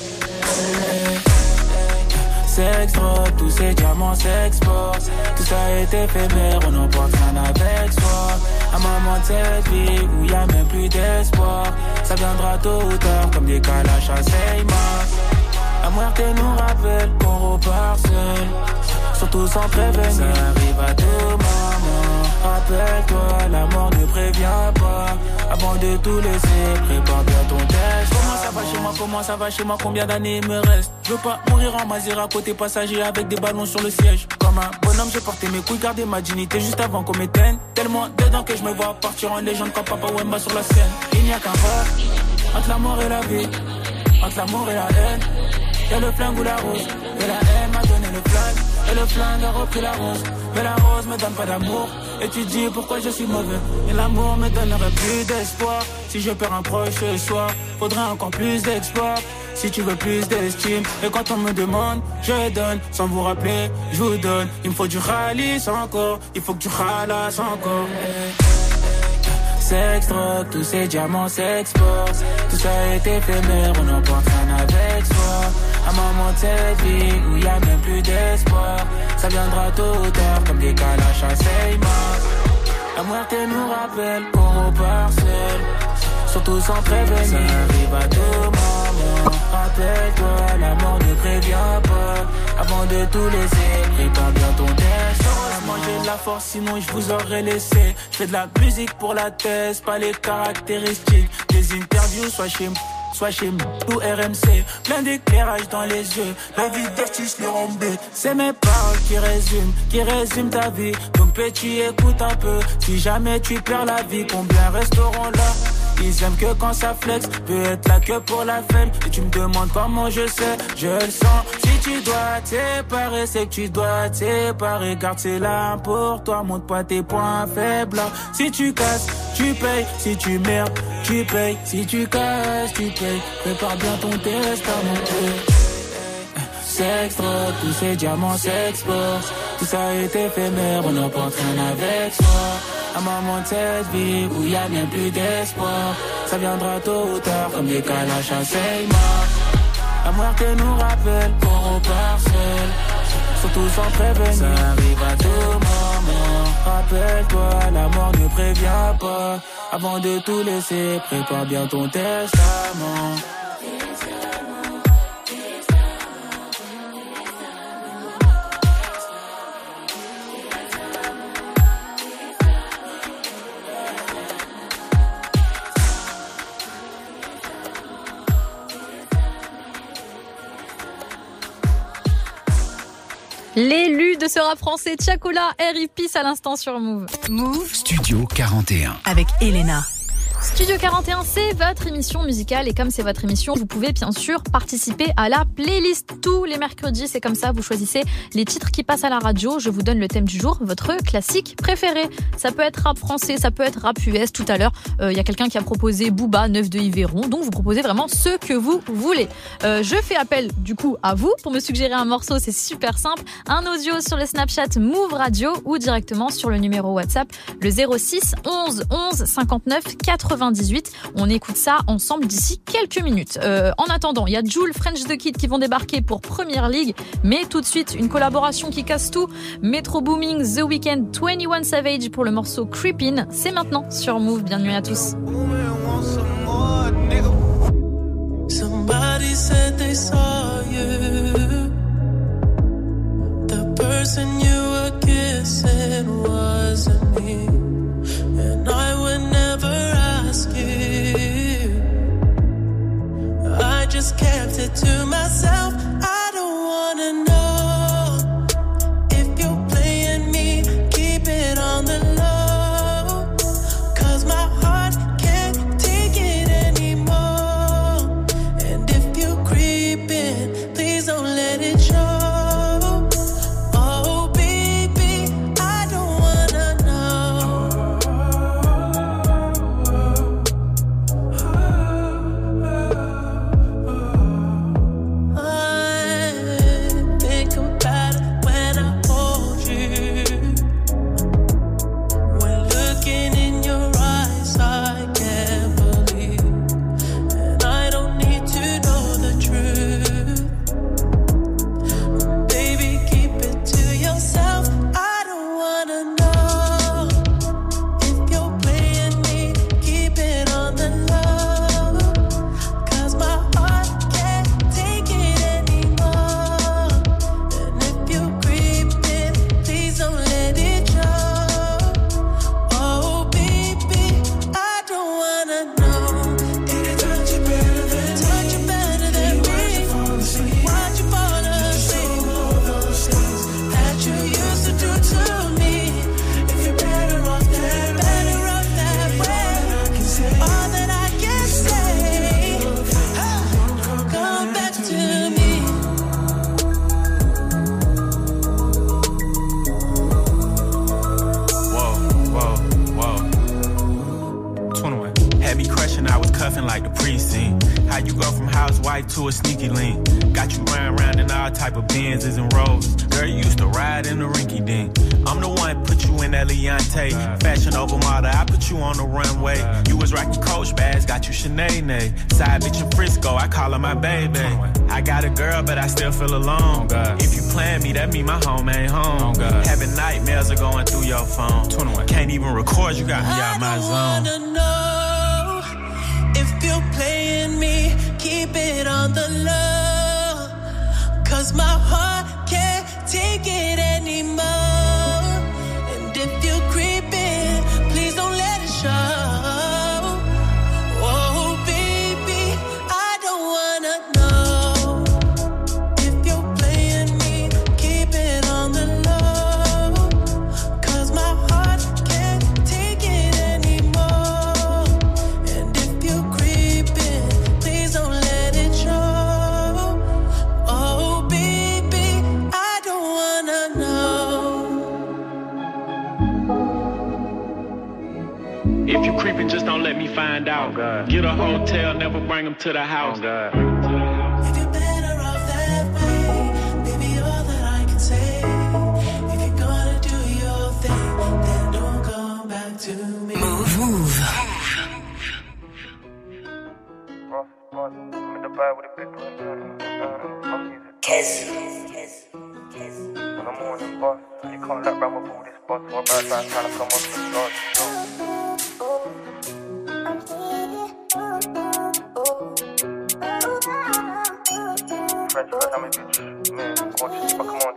S'exporte, tous ces diamants s'exportent, tout ça a été fait, mais on n'emporte rien avec soi. Un moment de cette vie où y a même plus d'espoir, ça viendra tôt ou tard comme des calaches à Seymour. La muerte nous rappelle qu'on repart seul, surtout sans prévenir, ça arrive à tout moment. Rappelle-toi, la mort ne prévient pas, Avant de tout laisser, prépare bien ton test. Comment ça va chez moi, combien d'années il me reste? Je veux pas mourir en Mazira côté passager avec des ballons sur le siège. Comme un bonhomme j'ai porté mes couilles, gardé ma dignité juste avant qu'on m'éteigne. Tellement dedans que je me vois partir en légende comme Papa Wemba sur la scène. Il n'y a qu'un pas entre la mort et la vie, entre l'amour et la haine. Y'a le flingue ou la rose, et la haine m'a donné le flingue, et le flingue a repris la rose. Mais la rose me donne pas d'amour, et tu dis pourquoi je suis mauvais. Et l'amour me donnerait plus d'espoir. Si je perds un proche ce soir, faudrait encore plus d'exploits. Si tu veux plus d'estime, et quand on me demande, je donne. Sans vous rappeler, je vous donne. Il me faut du ralice encore, il faut que tu ralasses encore. Sex, drogue, tous ces diamants s'exportent. Tout ça est éphémère, on n'emporte rien avec soi. Un moment de cette vie où y a même plus d'espoir. Ça viendra tôt ou tard comme des calaches à Seymour. La muerte nous rappelle qu'on repart seul, surtout sans prévenir. Ça arrive à tout moment. Rappelle-toi, la mort ne prévient pas. Avant de tout laisser, prépare bien ton test. Heureusement j'ai de la force, sinon je vous aurais laissé. Je fais de la musique pour la thèse, pas les caractéristiques. Des interviews, soit chez moi ou RMC. Plein d'éclairage dans les yeux, la vie d'artiste le rembé. C'est mes paroles qui résument ta vie. Donc petit, écoute un peu. Si jamais tu perds la vie, combien resteront là? Ils aiment que quand ça flex, peut être là que pour la femme. Et tu me demandes comment je sais, je le sens. Si tu dois t'éparer, c'est que tu dois t'éparer. Garde ces larmes pour toi, montre pas tes points faibles. Si tu casses, tu payes. Si tu merdes, tu payes. Si tu casses, tu payes. Prépare bien ton testament. Sex, drogue, tous ces diamants s'exportent. Tout ça est éphémère, on n'emporte rien avec soi. Un moment de cette vie où y a bien plus d'espoir. Ça viendra tôt ou tard comme des calaches à Seymour. La muerte nous rappelle qu'on repart seul, surtout sans prévenir. Ça arrive à tout moment. Rappelle-toi, la mort ne prévient pas. Avant de tout laisser, prépare bien ton testament. L'élu de ce rap français, Tiakola, R.I.P. à l'instant sur Move. Move Studio 41 avec Elena. Studio 41, c'est votre émission musicale et comme c'est votre émission, vous pouvez bien sûr participer à la playlist tous les mercredis. C'est comme ça, vous choisissez les titres qui passent à la radio. Je vous donne le thème du jour, votre classique préféré. Ça peut être rap français, ça peut être rap US. Tout à l'heure, y a quelqu'un qui a proposé Booba, 9 de Yveron. Donc vous proposez vraiment ce que vous voulez. Je fais appel du coup à vous pour me suggérer un morceau. C'est super simple. Un audio sur le Snapchat Move Radio ou directement sur le numéro WhatsApp, le 06 11 11 59 98. On écoute ça ensemble d'ici quelques minutes. En attendant, il y a Jul, French The Kid qui vont débarquer pour Première League. Mais tout de suite, une collaboration qui casse tout. Metro Booming, The Weeknd, 21 Savage pour le morceau Creepin'. C'est maintenant sur Move. Bienvenue à tous. Somebody said they saw you. The person you were kissing wasn't me. And I would never ask you. I just kept it to myself. I don't wanna know if you're playing me. Keep it on the low, 'cause my heart can't take it anymore. And if you creep in, please don't let it show. Oh, baby. like the precinct. How you go from housewife to a sneaky link? Got you round in all type of Benzes and Rolls. Girl, you used to ride in the rinky dink. I'm the one put you in that Leontay. Fashion over model, I put you on the runway. You was rocking Coach bags, got you Sinead. Side bitch in Frisco, I call her my baby. I got a girl, but I still feel alone. If you plan me, that mean my home ain't home. Having nightmares are going through your phone. Can't even record, you got me out my zone. I wanna know if you're playing me, keep it on the low. 'Cause my heart can't take it anymore. And if you're creeping, please don't let it show. Oh baby, I don't wanna know if you're playing me, keep it on the low. 'Cause my heart can't take it anymore. And if you're creeping, please don't let it show. Oh baby, I don't wanna know. If you creeping, just don't let me find out. Get a hotel, never bring them to the house. If you're better off that way, baby, all that I can say. If you're gonna do your thing, then don't come back to me. Move. Kiss. When I'm on the bus, you can't let round with all this bus. What bad man trying to come up to the God. French, I'm a bitch. Man, watch, come on,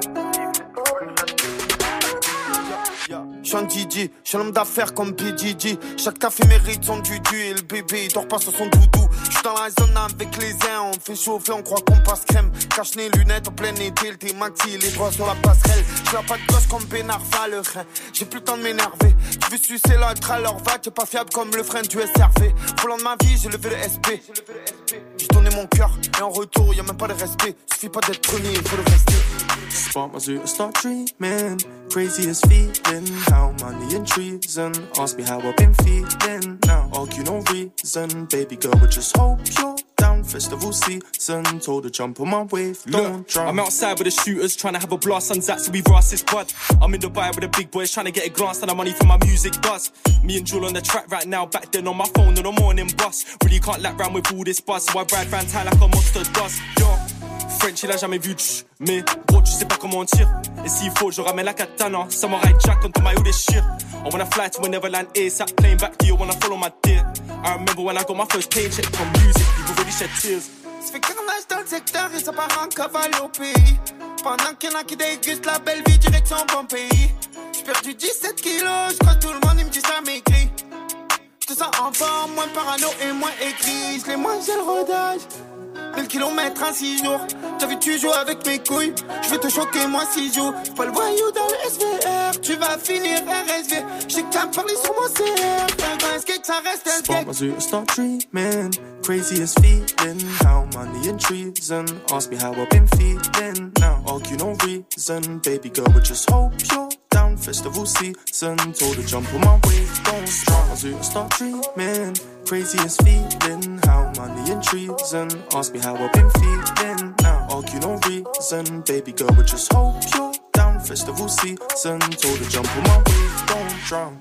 J'suis un DJ, j'suis un homme d'affaires comme PDG. Chaque café mérite son dudu et le bébé il dort pas sur son doudou. J'suis dans la zone avec les uns, on fait chauffer, on croit qu'on passe crème. Cache les lunettes en plein été, le thé maxi, les doigts sur la passerelle. J'suis pas de gosse comme Benarfa le rein. J'ai plus le temps de m'énerver. Tu veux sucer l'autre à leur va, t'es pas fiable comme le frein du SRV. Volant de ma vie, j'ai levé le SP. J'ai donné mon cœur et en retour y'a même pas de respect. Suffit pas d'être premier, il faut le rester. Spark my zoo, start dreaming. Craziest feeling. How money and treason. Ask me how I've been feeling. Now argue no reason. Baby girl, but just hope you're down. Festival season. Told her jump on my wave. Don't drown. I'm outside with the shooters trying to have a blast on Zach, so we ross this bud. I'm in Dubai with the big boys trying to get a glance and the money for my music buzz. Me and Jewel on the track right now. Back then on my phone on the morning bus. Really can't lap round with all this buzz, so I ride round town like a monster does. Yo. French il a jamais vu mais gros tu sais pas comment on tire. Et s'il faut je ramène la katana. Samurai Jack quand ton maillot déchire. I wanna fly to Neverland ASAP, plane back to you wanna follow my dear. I remember when I got my first paycheck from music, people really shed tears. Ça fait carnage dans le secteur et ça part en cavale au pays. Pendant qu'il y en a qui dégustent la belle vie direction bon pays. J'suis perdu 17 kilos, j'croise tout le monde, il me dit ça m'écrit. J'te sens en forme, moins parano et moins écrit. J'l'ai mangé le rodage. 1000 kilomètres en 6 jours. T'as vu tu joues avec mes couilles. J'vais te choquer moi 6 jours. J'suis pas le voyou dans le SVR. Tu vas finir RSV. J'sais que t'as parlé sur mon CR. Un skate ça reste un Spark skate. my zoo, start dreaming. Craziest feeling. How money and treason. Ask me how I've been feeling. Now argue no reason. Baby girl, but just hope you're down. Festival season. Told her jump on my wave. Don't spark my zoo, start dreaming. Craziest feeling. How money and treason. Ask me how I've been feeling. Now argue no reason. Baby girl, but just hope you're down. Festival season. Told her jump on my wave. Don't drown.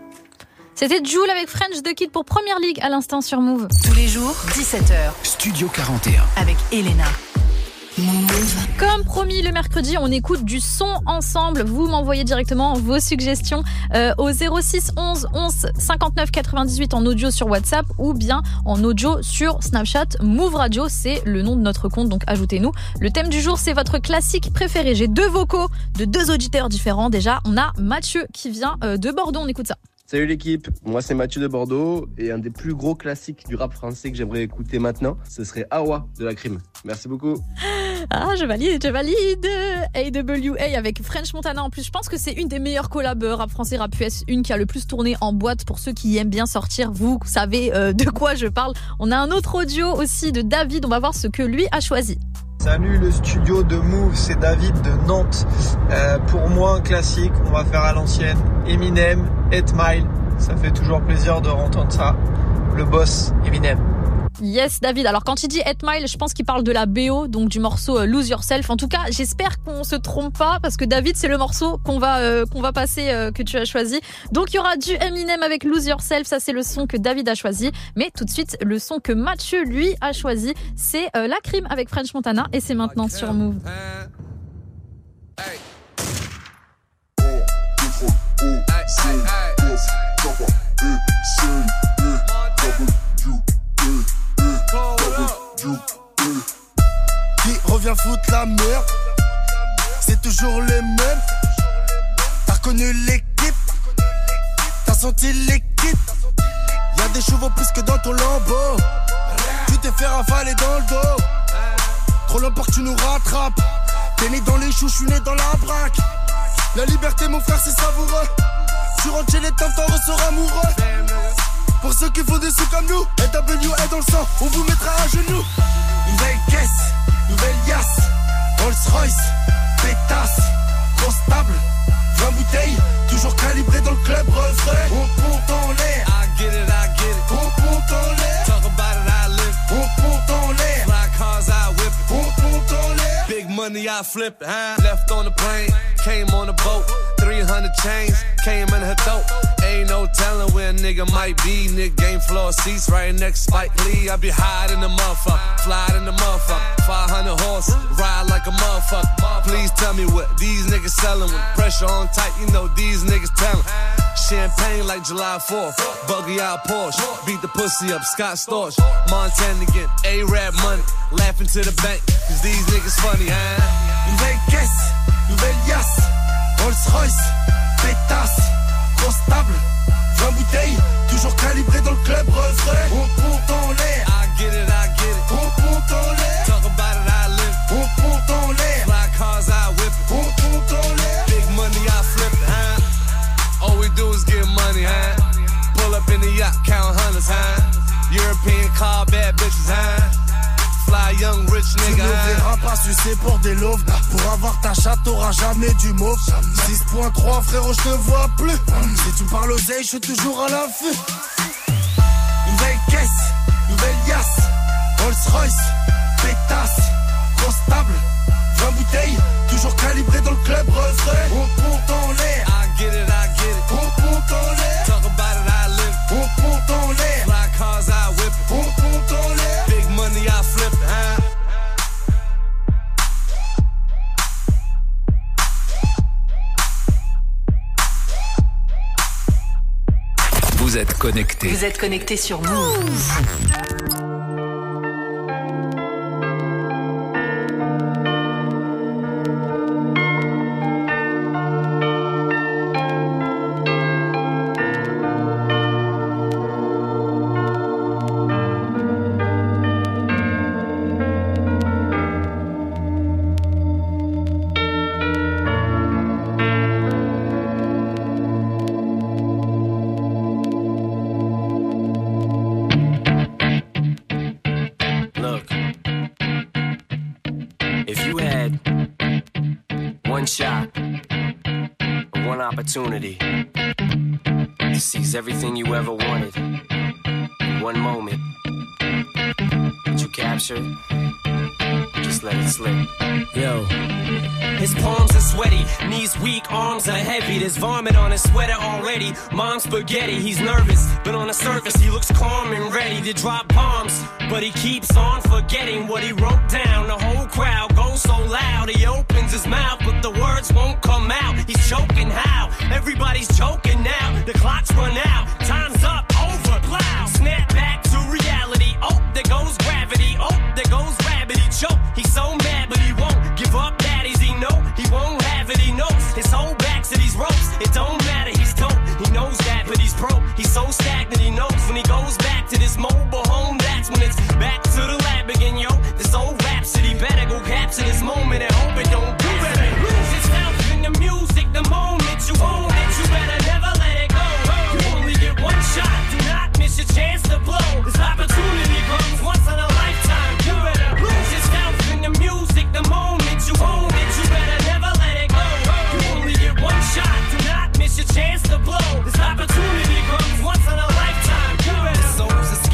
C'était Jul avec French The Kid pour Première Ligue à l'instant sur Move. Tous les jours, 17h. Studio 41. Avec Elena. Comme promis, le mercredi, on écoute du son ensemble. Vous m'envoyez directement vos suggestions au 06 11 11 59 98 en audio sur WhatsApp ou bien en audio sur Snapchat. Move Radio, c'est le nom de notre compte, donc ajoutez-nous. Le thème du jour, c'est votre classique préféré. J'ai 2 vocaux de 2 auditeurs différents. Déjà, on a Mathieu qui vient de Bordeaux. On écoute ça. Salut l'équipe, moi c'est Mathieu de Bordeaux et un des plus gros classiques du rap français que j'aimerais écouter maintenant, ce serait Awa de La Crime. Merci beaucoup. Ah, je valide. AWA avec French Montana en plus. Je pense que c'est une des meilleures collabs rap français, rap US, une qui a le plus tourné en boîte pour ceux qui aiment bien sortir. Vous savez de quoi je parle. On a un autre audio aussi de David, on va voir ce que lui a choisi. Salut le studio de Move, c'est David de Nantes. Pour moi un classique, on va faire à l'ancienne, Eminem, 8 Mile, ça fait toujours plaisir de entendre ça. le boss Eminem. Yes, David. Alors, quand il dit 8 Mile, je pense qu'il parle de la BO, donc du morceau Lose Yourself. En tout cas, j'espère qu'on se trompe pas, parce que David, c'est le morceau qu'on va passer, que tu as choisi. Donc, il y aura du Eminem avec Lose Yourself. Ça, c'est le son que David a choisi. Mais tout de suite, le son que Mathieu, lui, a choisi, c'est La Crime avec French Montana. Et c'est maintenant sur Move. Qui revient foutre la merde? C'est toujours les mêmes. T'as connu l'équipe, t'as senti l'équipe. Y'a des chevaux plus que dans ton lambeau. Tu t'es fait ravaler dans le dos. Trop longtemps que tu nous rattrapes. T'es né dans les choux, j'suis né dans la braque. La liberté mon frère c'est savoureux. Tu rentres chez les temps, t'en ressors amoureux. Pour ceux qui font des sous comme nous, NWA dans le sang, on vous mettra à genoux. Nouvelle caisse, nouvelle yasse, Rolls Royce, pétasse, grosse table, 20 bouteilles, toujours calibré dans le club refrain. On monte en l'air, I get it, on monte en l'air, talk about it, I live, on monte en l'air, fly cars, I whip it, on monte en l'air, big money, I flip it, left on the plane, came on the boat, 300 chains, came in her throat. Ain't no telling where a nigga might be. Nigga game floor seats right next to Spike Lee. I be high in the motherfucker, fly in the motherfucker. 500 horses, ride like a motherfucker. Please tell me what these niggas selling. With pressure on tight, you know these niggas telling. Champagne like July 4th, buggy out Porsche. Beat the pussy up, Scott Storch. Montana again, A-Rap money. Laughing to the bank, cause these niggas funny, huh? Nouvelle caisse, nouvelle yasse, Rolls Royce, pétasse, grosse table, 20 bouteilles, toujours calibré dans le club refrain. On monte en l'air, I get it, on monte en l'air, talk about it, I live, on monte en l'air, fly cars, I whip it, on monte en l'air, big money, I flip it, huh? All we do is get money, huh? Pull up in the yacht, count hundreds, huh? European car, bad bitches, huh? Fly young rich nigga. Tu ne verras pas sucer pour des loaves. Pour avoir ta chatte, t'auras jamais du mauve. 6.3 frérot, je te vois plus. Si tu me parles oseille, je suis toujours à l'affût. Nouvelle caisse, nouvelle yasse, Rolls Royce, pétasse, grosse table, 20 bouteilles, toujours calibré dans le club refrain. On monte en l'air, I get it, on monte en l'air, talk about it, I live, on monte en l'air, fly cars, I whip it, on monte en l'air, big money, I flip it, huh? Vous êtes connectés. Vous êtes connectés sur Move. Opportunity to seize everything you ever wanted in one moment. Did you capture it? Just let it slip. Yo. His palms are sweaty, knees weak, arms are heavy. There's vomit on his sweater already. Mom's spaghetti, he's nervous, but on the surface he looks calm and ready to drop bombs. But he keeps on forgetting what he wrote down. The whole crowd goes so loud, he opens his mouth, but the words won't come out. He's choking how? Everybody's choking now. The clock's run out, time's up, over, plow. Snap back to reality. Oh, there goes gravity. Oh, there goes rabbit. He choke. He's so mad, but he won't give up. Daddies, he know he won't have it. He knows his whole back to these ropes. It don't matter. He's dope. He knows that, but he's broke. He's so stagnant. He knows when he goes back to this mobile home. That's when it's back to the lab again, yo. This old rhapsody better go capture this moment and hope it don't do better. Lose yourself in the music the moment you own it. You better never let it go. You only get one shot. Do not miss your chance to blow. This opportunity comes once in a lifetime. You better lose yourself in the music the moment you own it. You better never let it go. You only get one shot. Do not miss your chance to blow. This opportunity comes once in a lifetime. You better.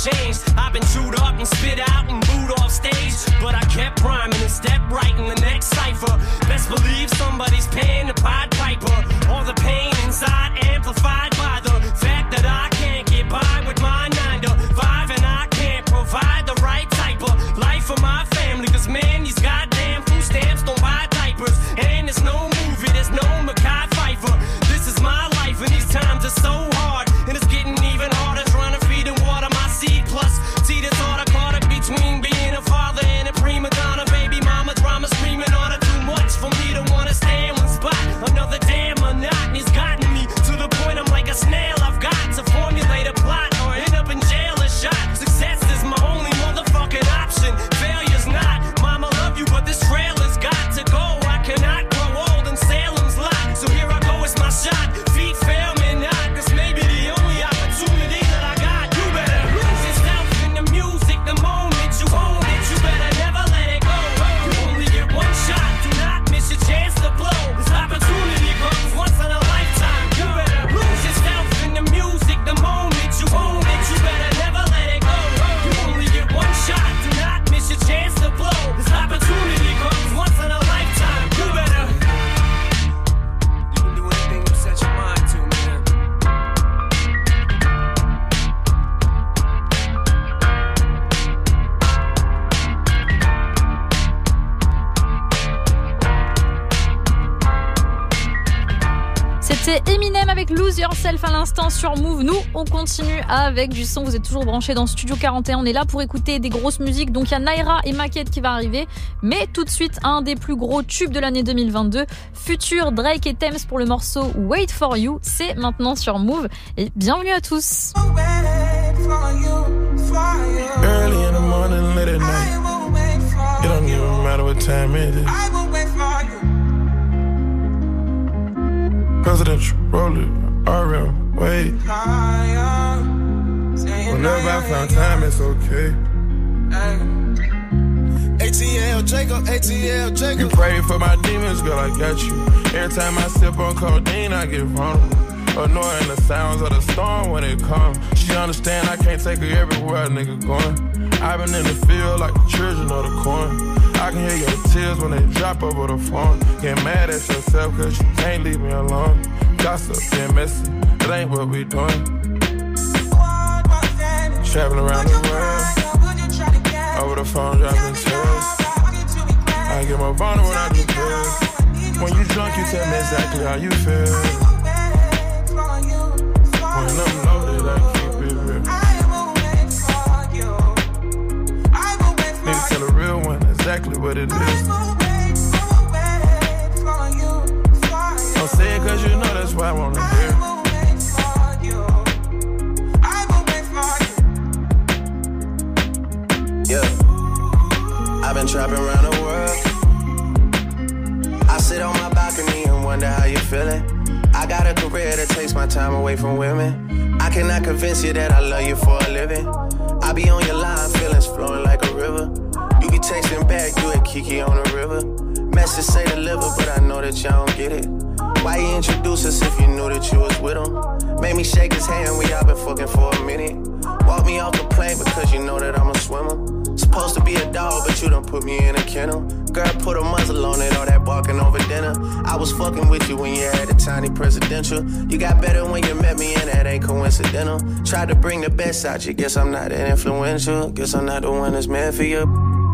changed. I've been chewed up and spit out and booed off stage, but I kept rhyming and stepped right in the next cipher. Best believe somebody's paying the Pied Piper. All the pain inside amplified by the fact that I can't get by with my 9 to 5, and I can't provide the right type of life for my family. Cause man, these goddamn food stamps don't buy diapers, and there's no movie, there's no Mekhi Phifer. This is my life, and these times are so hard, and it's getting even harder trying to feed and water my seed. Plus, see this order caught up between being a father and a prima donna. Baby mama drama screaming order too much for me to wanna stay in one spot. Another damn monotony's gotten me to the point I'm like a snail. I've got to formulate a plot or end up in jail or shot. Success is my only motherfucking option. Failure's not. Mama love you, but this trailer's got to go. I cannot grow old in Salem's lot, so here I go, it's my shot. Feet fail me not. This may be the only opportunity that I got. You better lose yourself in the music the moment you own it. You better never let it go. You only get one shot. Do not miss your chance to blow. This opportunity comes once in a lifetime. You better lose yourself in the music the moment you own it. You better never let it go. You only get one shot. Do not miss your chance to blow. This opportunity comes once in a lifetime. You better. You can do anything you set your mind to, man. C'était Eminem avec Lose Yourself à l'instant sur Move. Nous, on continue avec du son. Vous êtes toujours branchés dans Studio 41. On est là pour écouter des grosses musiques. Donc, il y a Naira et Maquette qui va arriver. Mais tout de suite, un des plus gros tubes de l'année 2022. Future, Drake et Thames pour le morceau Wait For You. C'est maintenant sur Move. Et bienvenue à tous. Early in the morning, late at night. It don't even matter what time it is. Presidential, roll it, RM, wait. Whenever I find time, it's okay. ATL Jacob, ATL Jacob. You pray for my demons, girl, I got you. Every time I sip on codeine, I get vulnerable. Annoying the sounds of the storm when it comes. She understand I can't take her everywhere a nigga going. I've been in the field like the children of the corn. I can hear your tears when they drop over the phone. Get mad at yourself cause you can't leave me alone. Gossip, getting messy, that ain't what we doing. Traveling around the world, over the phone dropping tears. I get more vulnerable when I do pills. When you drunk you tell me exactly how you feel. When I'm loaded I keep it real. Need to tell a real one exactly what it is. Don't say it cause you know that's why I wanna hear. Yeah, I've been trapping around the world. I sit on my balcony and wonder how you feeling. I got a career that takes my time away from women. I cannot convince you that I love you for a living. I be on your line, feelings flowing like a river. You be texting back, you and Kiki on the river. Message say deliver, but I know that y'all don't get it. Why you introduce us if you knew that you was with him? Made me shake his hand, we all been fucking for a minute. Walk me off the plane because you know that I'm a swimmer. Supposed to be a dog, but you done put me in a kennel. Girl, put a muzzle on it, all that barking over dinner. I was fucking with you when you had a tiny presidential. You got better when you met me, and that ain't coincidental. Tried to bring the best out you, guess I'm not that influential. Guess I'm not the one that's meant for you.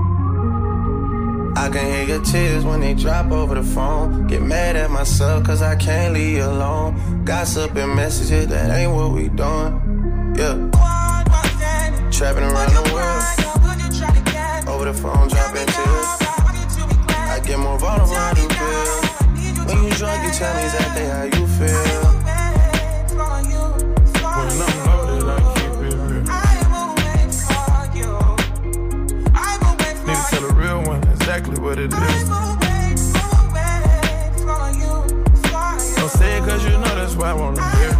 I can hear your tears when they drop over the phone. Get mad at myself cause I can't leave you alone. Gossip and messages, that ain't what we doing. Yeah. Trapping around the world. Over the phone, dropping tears. I get more vulnerable when I do pills. When you drunk, you tell me exactly how you feel. When I'm loaded, I keep it real. Need to tell a real one exactly what it is. Don't say it cause you know that's why I wanna hear.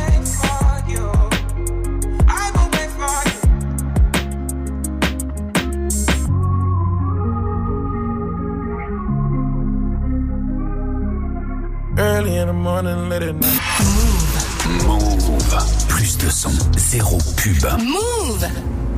Early in the morning, late at night. Move. Plus de son, zéro pub. Move.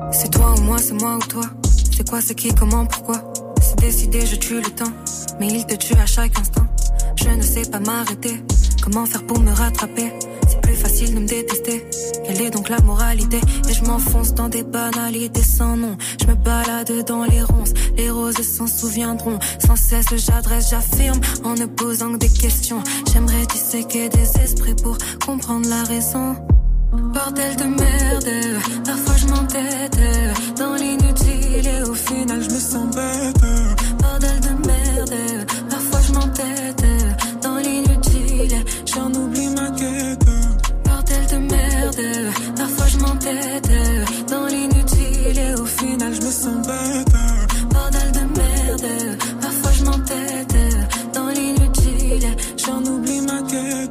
C'est toi ou moi, c'est moi ou toi. C'est quoi, c'est qui, comment, pourquoi. C'est décidé, je tue le temps, mais il te tue à chaque instant. Je ne sais pas m'arrêter, comment faire pour me rattraper. C'est plus facile de me détester. Quelle est donc la moralité? Et je m'enfonce dans des banalités sans nom. Je me balade dans les ronces, les roses s'en souviendront. Sans cesse j'adresse, j'affirme, en ne posant que des questions. J'aimerais disséquer des esprits pour comprendre la raison. Bordel de merde, parfois je m'entête dans l'inutile et au final je me sens bête. Bordel de merde, parfois je m'entête dans l'inutile, j'en oublie ma quête. Bordel de merde, parfois je m'entête dans l'inutile et au final je me sens bête. Bordel de merde, parfois je m'entête dans l'inutile, j'en oublie ma quête.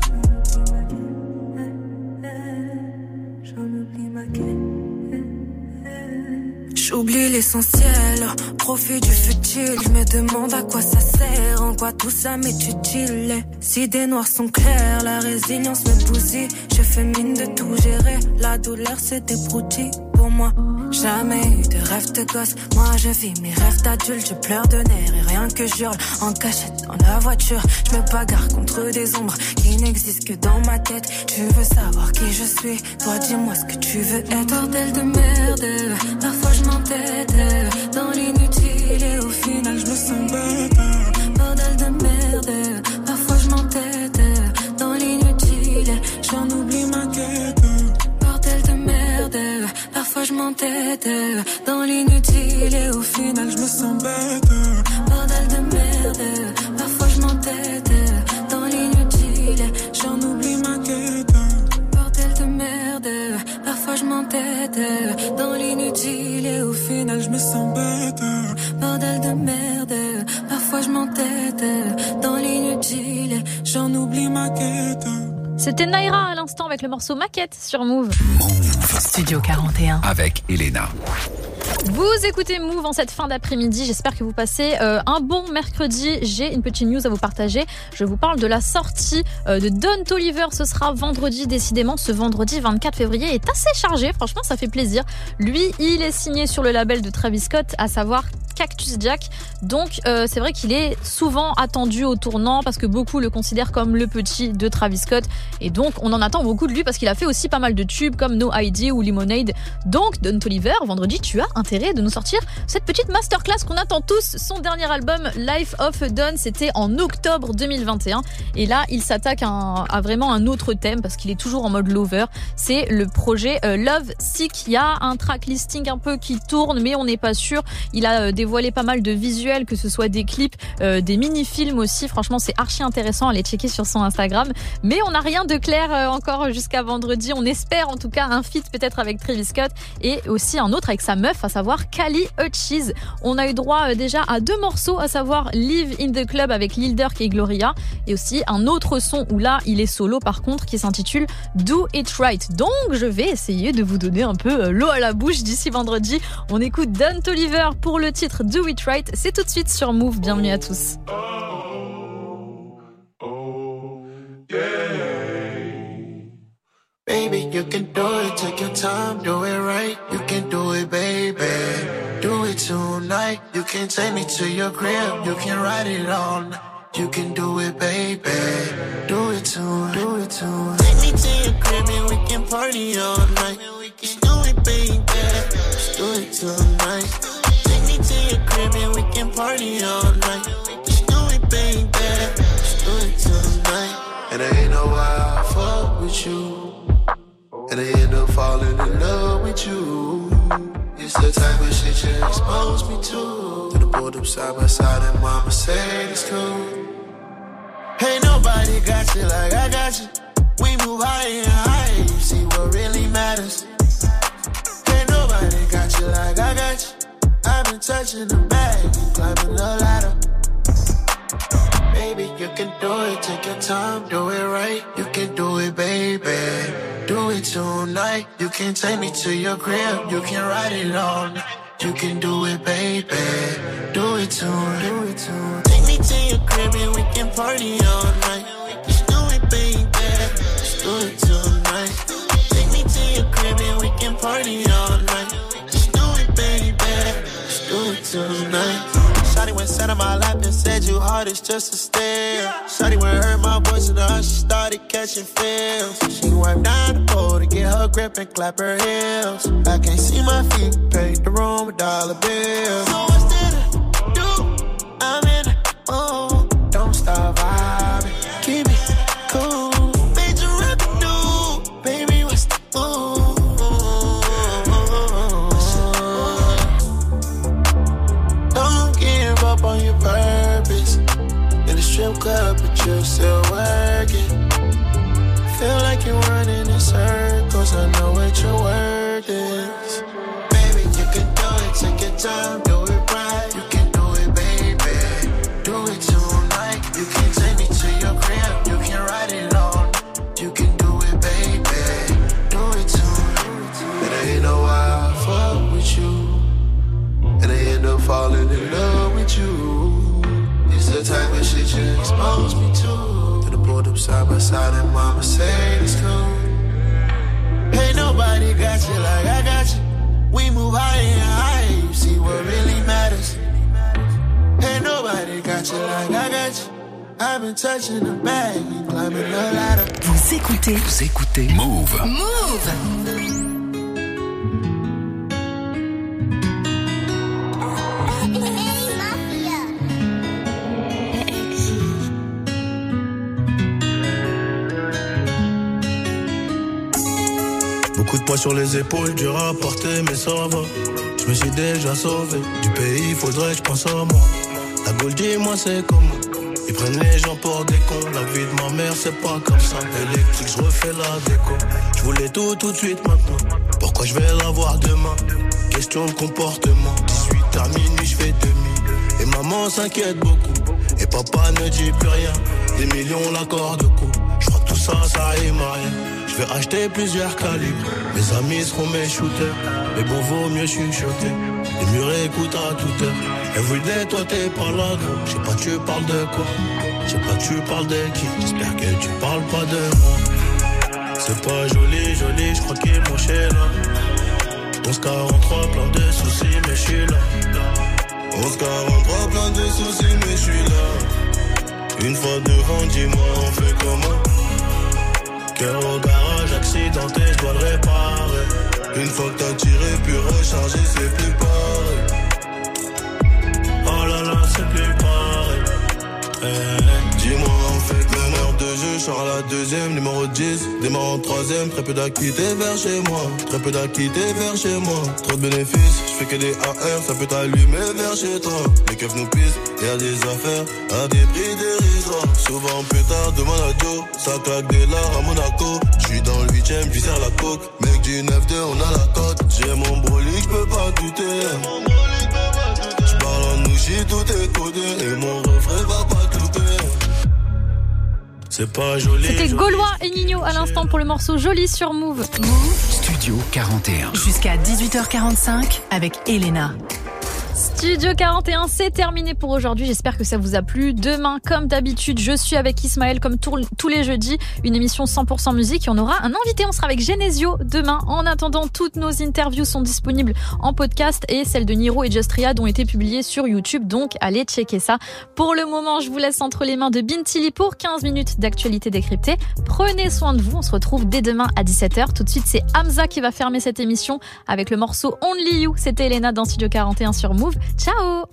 J'oublie l'essentiel, profite du futile. Je me demande à quoi ça sert, en quoi tout ça m'est utile. Si des noirs sont clairs, la résilience me bousille. Je fais mine de tout gérer, la douleur c'est des broutilles pour moi. Jamais eu de rêve de gosse, moi je vis mes rêves d'adulte. Je pleure de nerfs et rien que j'hurle en cachette dans la voiture. Je me bagarre contre des ombres qui n'existent que dans ma tête. Tu veux savoir qui je suis, toi dis-moi ce que tu veux être. Bordel de merde, parfois je m'entête dans l'inutile et au final je me sens bête. Bordel de merde, parfois je m'entête dans l'inutile, j'en oublie ma quête. Bordel de merde, parfois je m'entête dans l'inutile et au final je me sens bête. Bordel de merde, parfois je m'entête dans l'inutile, j'en oublie ma quête. Bordel de merde, parfois je m'entête dans l'inutile et au final je me sens bête. Bordel de merde, parfois je m'entête dans l'inutile, j'en oublie ma quête. C'était Naira à l'instant avec le morceau Maquette sur Move. Studio 41 avec Elena. Vous écoutez Move en cette fin d'après-midi. J'espère que vous passez un bon mercredi. J'ai une petite news à vous partager. Je vous parle de la sortie de Don Toliver. Ce sera vendredi. Décidément, ce vendredi 24 février est assez chargé. Franchement, ça fait plaisir. Lui, il est signé sur le label de Travis Scott, à savoir Cactus Jack. Donc, c'est vrai qu'il est souvent attendu au tournant parce que beaucoup le considèrent comme le petit de Travis Scott. Et donc, on en attend beaucoup de lui parce qu'il a fait aussi pas mal de tubes comme No ID ou Lemonade. Donc, Don Toliver, vendredi, tu as intérêt de nous sortir cette petite masterclass qu'on attend tous. Son dernier album Life of Don, c'était en octobre 2021 et là il s'attaque à vraiment un autre thème parce qu'il est toujours en mode lover. C'est le projet Love Sick. Il y a un track listing un peu qui tourne mais on n'est pas sûr. Il a dévoilé pas mal de visuels, que ce soit des clips, des mini-films aussi. Franchement c'est archi intéressant, allez checker sur son Instagram, mais on n'a rien de clair encore jusqu'à vendredi. On espère en tout cas un feat peut-être avec Travis Scott et aussi un autre avec sa meuf, à savoir Kali Uchis. On a eu droit déjà à 2 morceaux, à savoir Live in the Club avec Lil Durk et Gloria, et aussi un autre son où là il est solo par contre, qui s'intitule Do It Right. Donc je vais essayer de vous donner un peu l'eau à la bouche d'ici vendredi. On écoute Don Toliver pour le titre Do It Right. C'est tout de suite sur Move. Bienvenue à tous. Baby, you can do it, take your time, do it right. You can do it, baby. Do it tonight. You can take me to your crib, you can ride it all night. You can do it, baby. Do it tonight, do it tonight. Take me to your crib and we can party all night. Just do it, baby. Just do it tonight. Take me to your crib and we can party all night. Just do it, baby. Just do it tonight. And I ain't know why I fuck with you. And I end up falling in love with you. It's the type of shit you expose me to. Then I pulled up side by side and mama said it's cool. Ain't nobody got you like I got you. We move higher and higher, you see what really matters. Ain't nobody got you like I got you. I've been touching the bag and climbing the ladder. Baby, you can do it, take your time, do it right. You can do it, baby. Do it tonight. You can take me to your crib, you can ride it all night. You can do it, baby. Do it tonight. Do it tonight. Take me to your crib and we can party all night. Just do it, baby. Just do it tonight. Take me to your crib and we can party all night. name. Shawty went sat on my lap and said you hard as just a stare. Shawty went heard my voice and she started catching feels. She wiped down the pole to get her grip and clap her heels. I can't see my feet, paid the room with dollar bills. So what's there to do? I'm in the mood. Don't stop vibing, keep it cool. Major revenue, baby, what's the move? Don't give up on your purpose. In the strip club, but you're still working. Feel like you're running in circles. I know what your word is. Baby, you can do it. Take your time, do it right. You can do it, baby. Do it tonight. You can take me to your crib. You can ride it on. You can do it, baby. Do it tonight. And I ain't know why I fuck with you. And I end up falling in love with you. It's the type of shit you expose me to. Pulled up side by side and mama said it's cool. Ain't nobody got you like I got you. We move higher and higher, you see what really matters. Ain't nobody got you like I got you. I've been touching the bag and climbing the ladder. Vous écoutez Move. Beaucoup de poids sur les épaules, dur à porter, mais ça va. Je me suis déjà sauvé du pays, faudrait que je pense à moi. La Gaule, dis-moi c'est comment. Ils prennent les gens pour des cons. La vie de ma mère c'est pas comme ça. Électrique, je refais la déco. Je voulais tout de suite maintenant. Pourquoi je vais l'avoir demain? Question de comportement. 18 à minuit, je fais demi. Et maman s'inquiète beaucoup. Et papa ne dit plus rien. Des millions l'accord de coup. Je crois que tout ça, ça rime à rien. Je vais acheter plusieurs calibres. Mes amis seront mes shooters. Mais bon, vaut mieux chuchoter. Les murs écoutent à toute heure. Everyday, toi t'es pas là, gros. Je sais pas, tu parles de quoi. Je sais pas, tu parles de qui. J'espère que tu parles pas de moi. C'est pas joli, joli, je crois qu'il est branché là. 1143, plein de soucis, mais je suis là. 1143, plein de soucis, mais je suis là. Une fois devant, dis-moi, on fait comment? Cœur au garage, accidenté, je dois le réparer. Une fois que t'as tiré, puis rechargé, c'est plus pareil. Oh là là, c'est plus pareil. Dis-moi en fait, meneur de jeu, je sors à la deuxième, numéro 10. Démarre en troisième, très peu d'activité vers chez moi. Très peu d'activité vers chez moi. Trop de bénéfices, je fais que des AR, ça peut t'allumer vers chez toi. Les keufs nous pissent, y'a des affaires à des prix dérisoires. Souvent plus tard, demande à Joe, ça claque des lards à Monaco. J'suis dans le 8ème, j'y sers la coke. Mec du 9-2, on a la cote. J'ai mon brolic, j'peux pas douter. J'parle en nouchi, tout est codé. Et mon refrain va pas douter. C'est pas joli. C'était Gaulois et Nino à l'instant pour le morceau Joli sur Move. Studio 41. Jusqu'à 18h45 avec Elena. Studio 41, c'est terminé pour aujourd'hui. J'espère que ça vous a plu. Demain, comme d'habitude, je suis avec Ismaël comme tous les jeudis. Une émission 100% musique et on aura un invité. On sera avec Genesio demain. En attendant, toutes nos interviews sont disponibles en podcast et celles de Niro et Just Riyad ont été publiées sur YouTube. Donc, allez checker ça. Pour le moment, je vous laisse entre les mains de Bintili pour 15 minutes d'actualité décryptée. Prenez soin de vous. On se retrouve dès demain à 17h. Tout de suite, c'est Hamza qui va fermer cette émission avec le morceau Only You. C'était Elena dans Studio 41 sur Move. Ciao.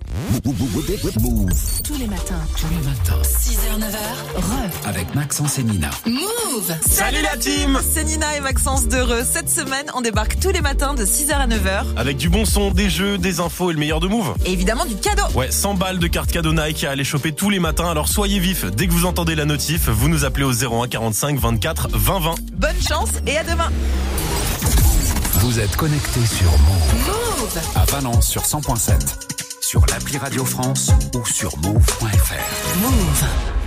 Tous les matins. 6h, 9h. Avec Maxence et Nina. Move. Salut la team. C'est Nina et Maxence d'Heureux. Cette semaine, on débarque tous les matins de 6h à 9h. Avec du bon son, des jeux, des infos et le meilleur de Move. Et évidemment du cadeau. Ouais, 100 balles de cartes cadeau Nike à aller choper tous les matins. Alors soyez vifs. Dès que vous entendez la notif, vous nous appelez au 01 45 24 20 20. Bonne chance et à demain. Vous êtes connectés sur Move. À Valence sur 100.7. Sur l'appli Radio France ou sur move.fr. Move.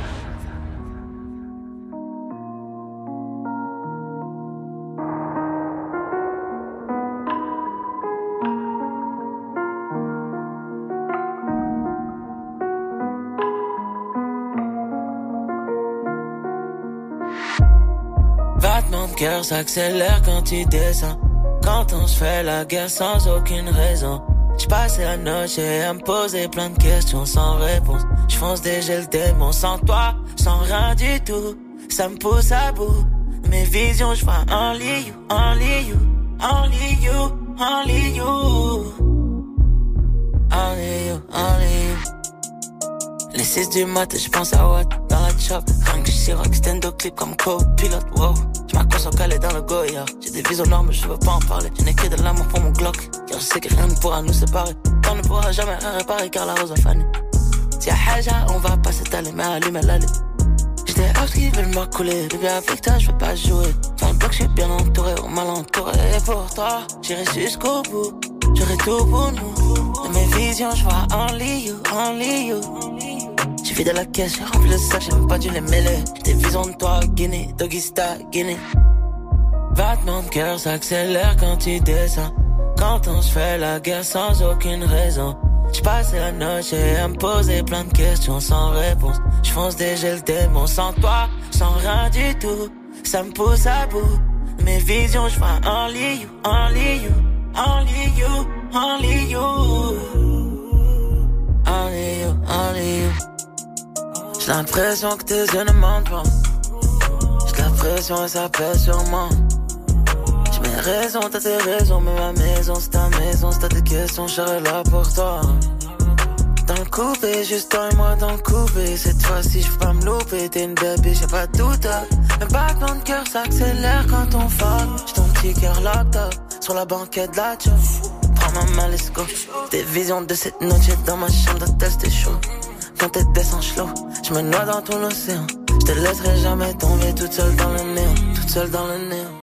Battement de cœur s'accélère quand tu descends. Quand on se fait la guerre sans aucune raison. J'passais la noche à me poser plein de questions sans réponse. J'fonce déjà le démon sans toi, sans rien du tout. Ça me pousse à bout. Mes visions, j'vois only you, only you, only you, only you. Only you, only you. Les 6 du matin, j'pense à what dans la chop. Rien que j'suis rock, stand up clip comme co-pilote, wow. J'm'accroche en calé dans le Goya. J'ai des visions noires mais je veux pas en parler. Je n'ai que de l'amour pour mon Glock. Car je sais que rien ne pourra nous séparer. On ne pourra jamais rien réparer car la rose a fané. Si y'a haja, on va pas s'étaler mais allumer l'allée. J'étais out qui veulent m'accouler. Bébé avec toi, je veux pas jouer. Dans le bloc, j'suis bien entouré ou mal entouré. Et pour toi, j'irai jusqu'au bout. J'aurai tout pour nous. Dans mes visions, j'vois only you, only you. J'ai vidé la caisse, j'ai rempli le sac, j'ai même pas dû les mêler. J'ai des visions de toi, Guinée, Doggy Star, Guinée. Battement de cœur s'accélère quand tu descends. Quand on se fait la guerre sans aucune raison. J'passais la noche à me poser plein de questions sans réponse. J'fonce déjà le démon sans toi, sans rien du tout. Ça me pousse à bout. Mes visions, j'vois only you, only you, only you, only you. Only you, only you. J'ai l'impression que tes yeux ne mentent pas. J'ai l'impression et ça pèse sur moi. J'ai mes raisons, t'as tes raisons, mais ma maison c'est ta maison. Si t'as des questions, je serai là pour toi. Dans le coupé, juste toi et moi dans le coupé. Cette fois-ci, je peux pas me louper. T'es une baby, j'ai pas de doute. Le battement de cœur s'accélère quand on fuck. J'ai ton petit cœur locked up sur la banquette de la job. Prends ma main, let's go. Des visions de cette noche dans ma chambre d'hôtel, c'était chaud. Quand t'es descend slow, je me noie dans ton océan. Je te laisserai jamais tomber toute seule dans le néant, toute seule dans le néant.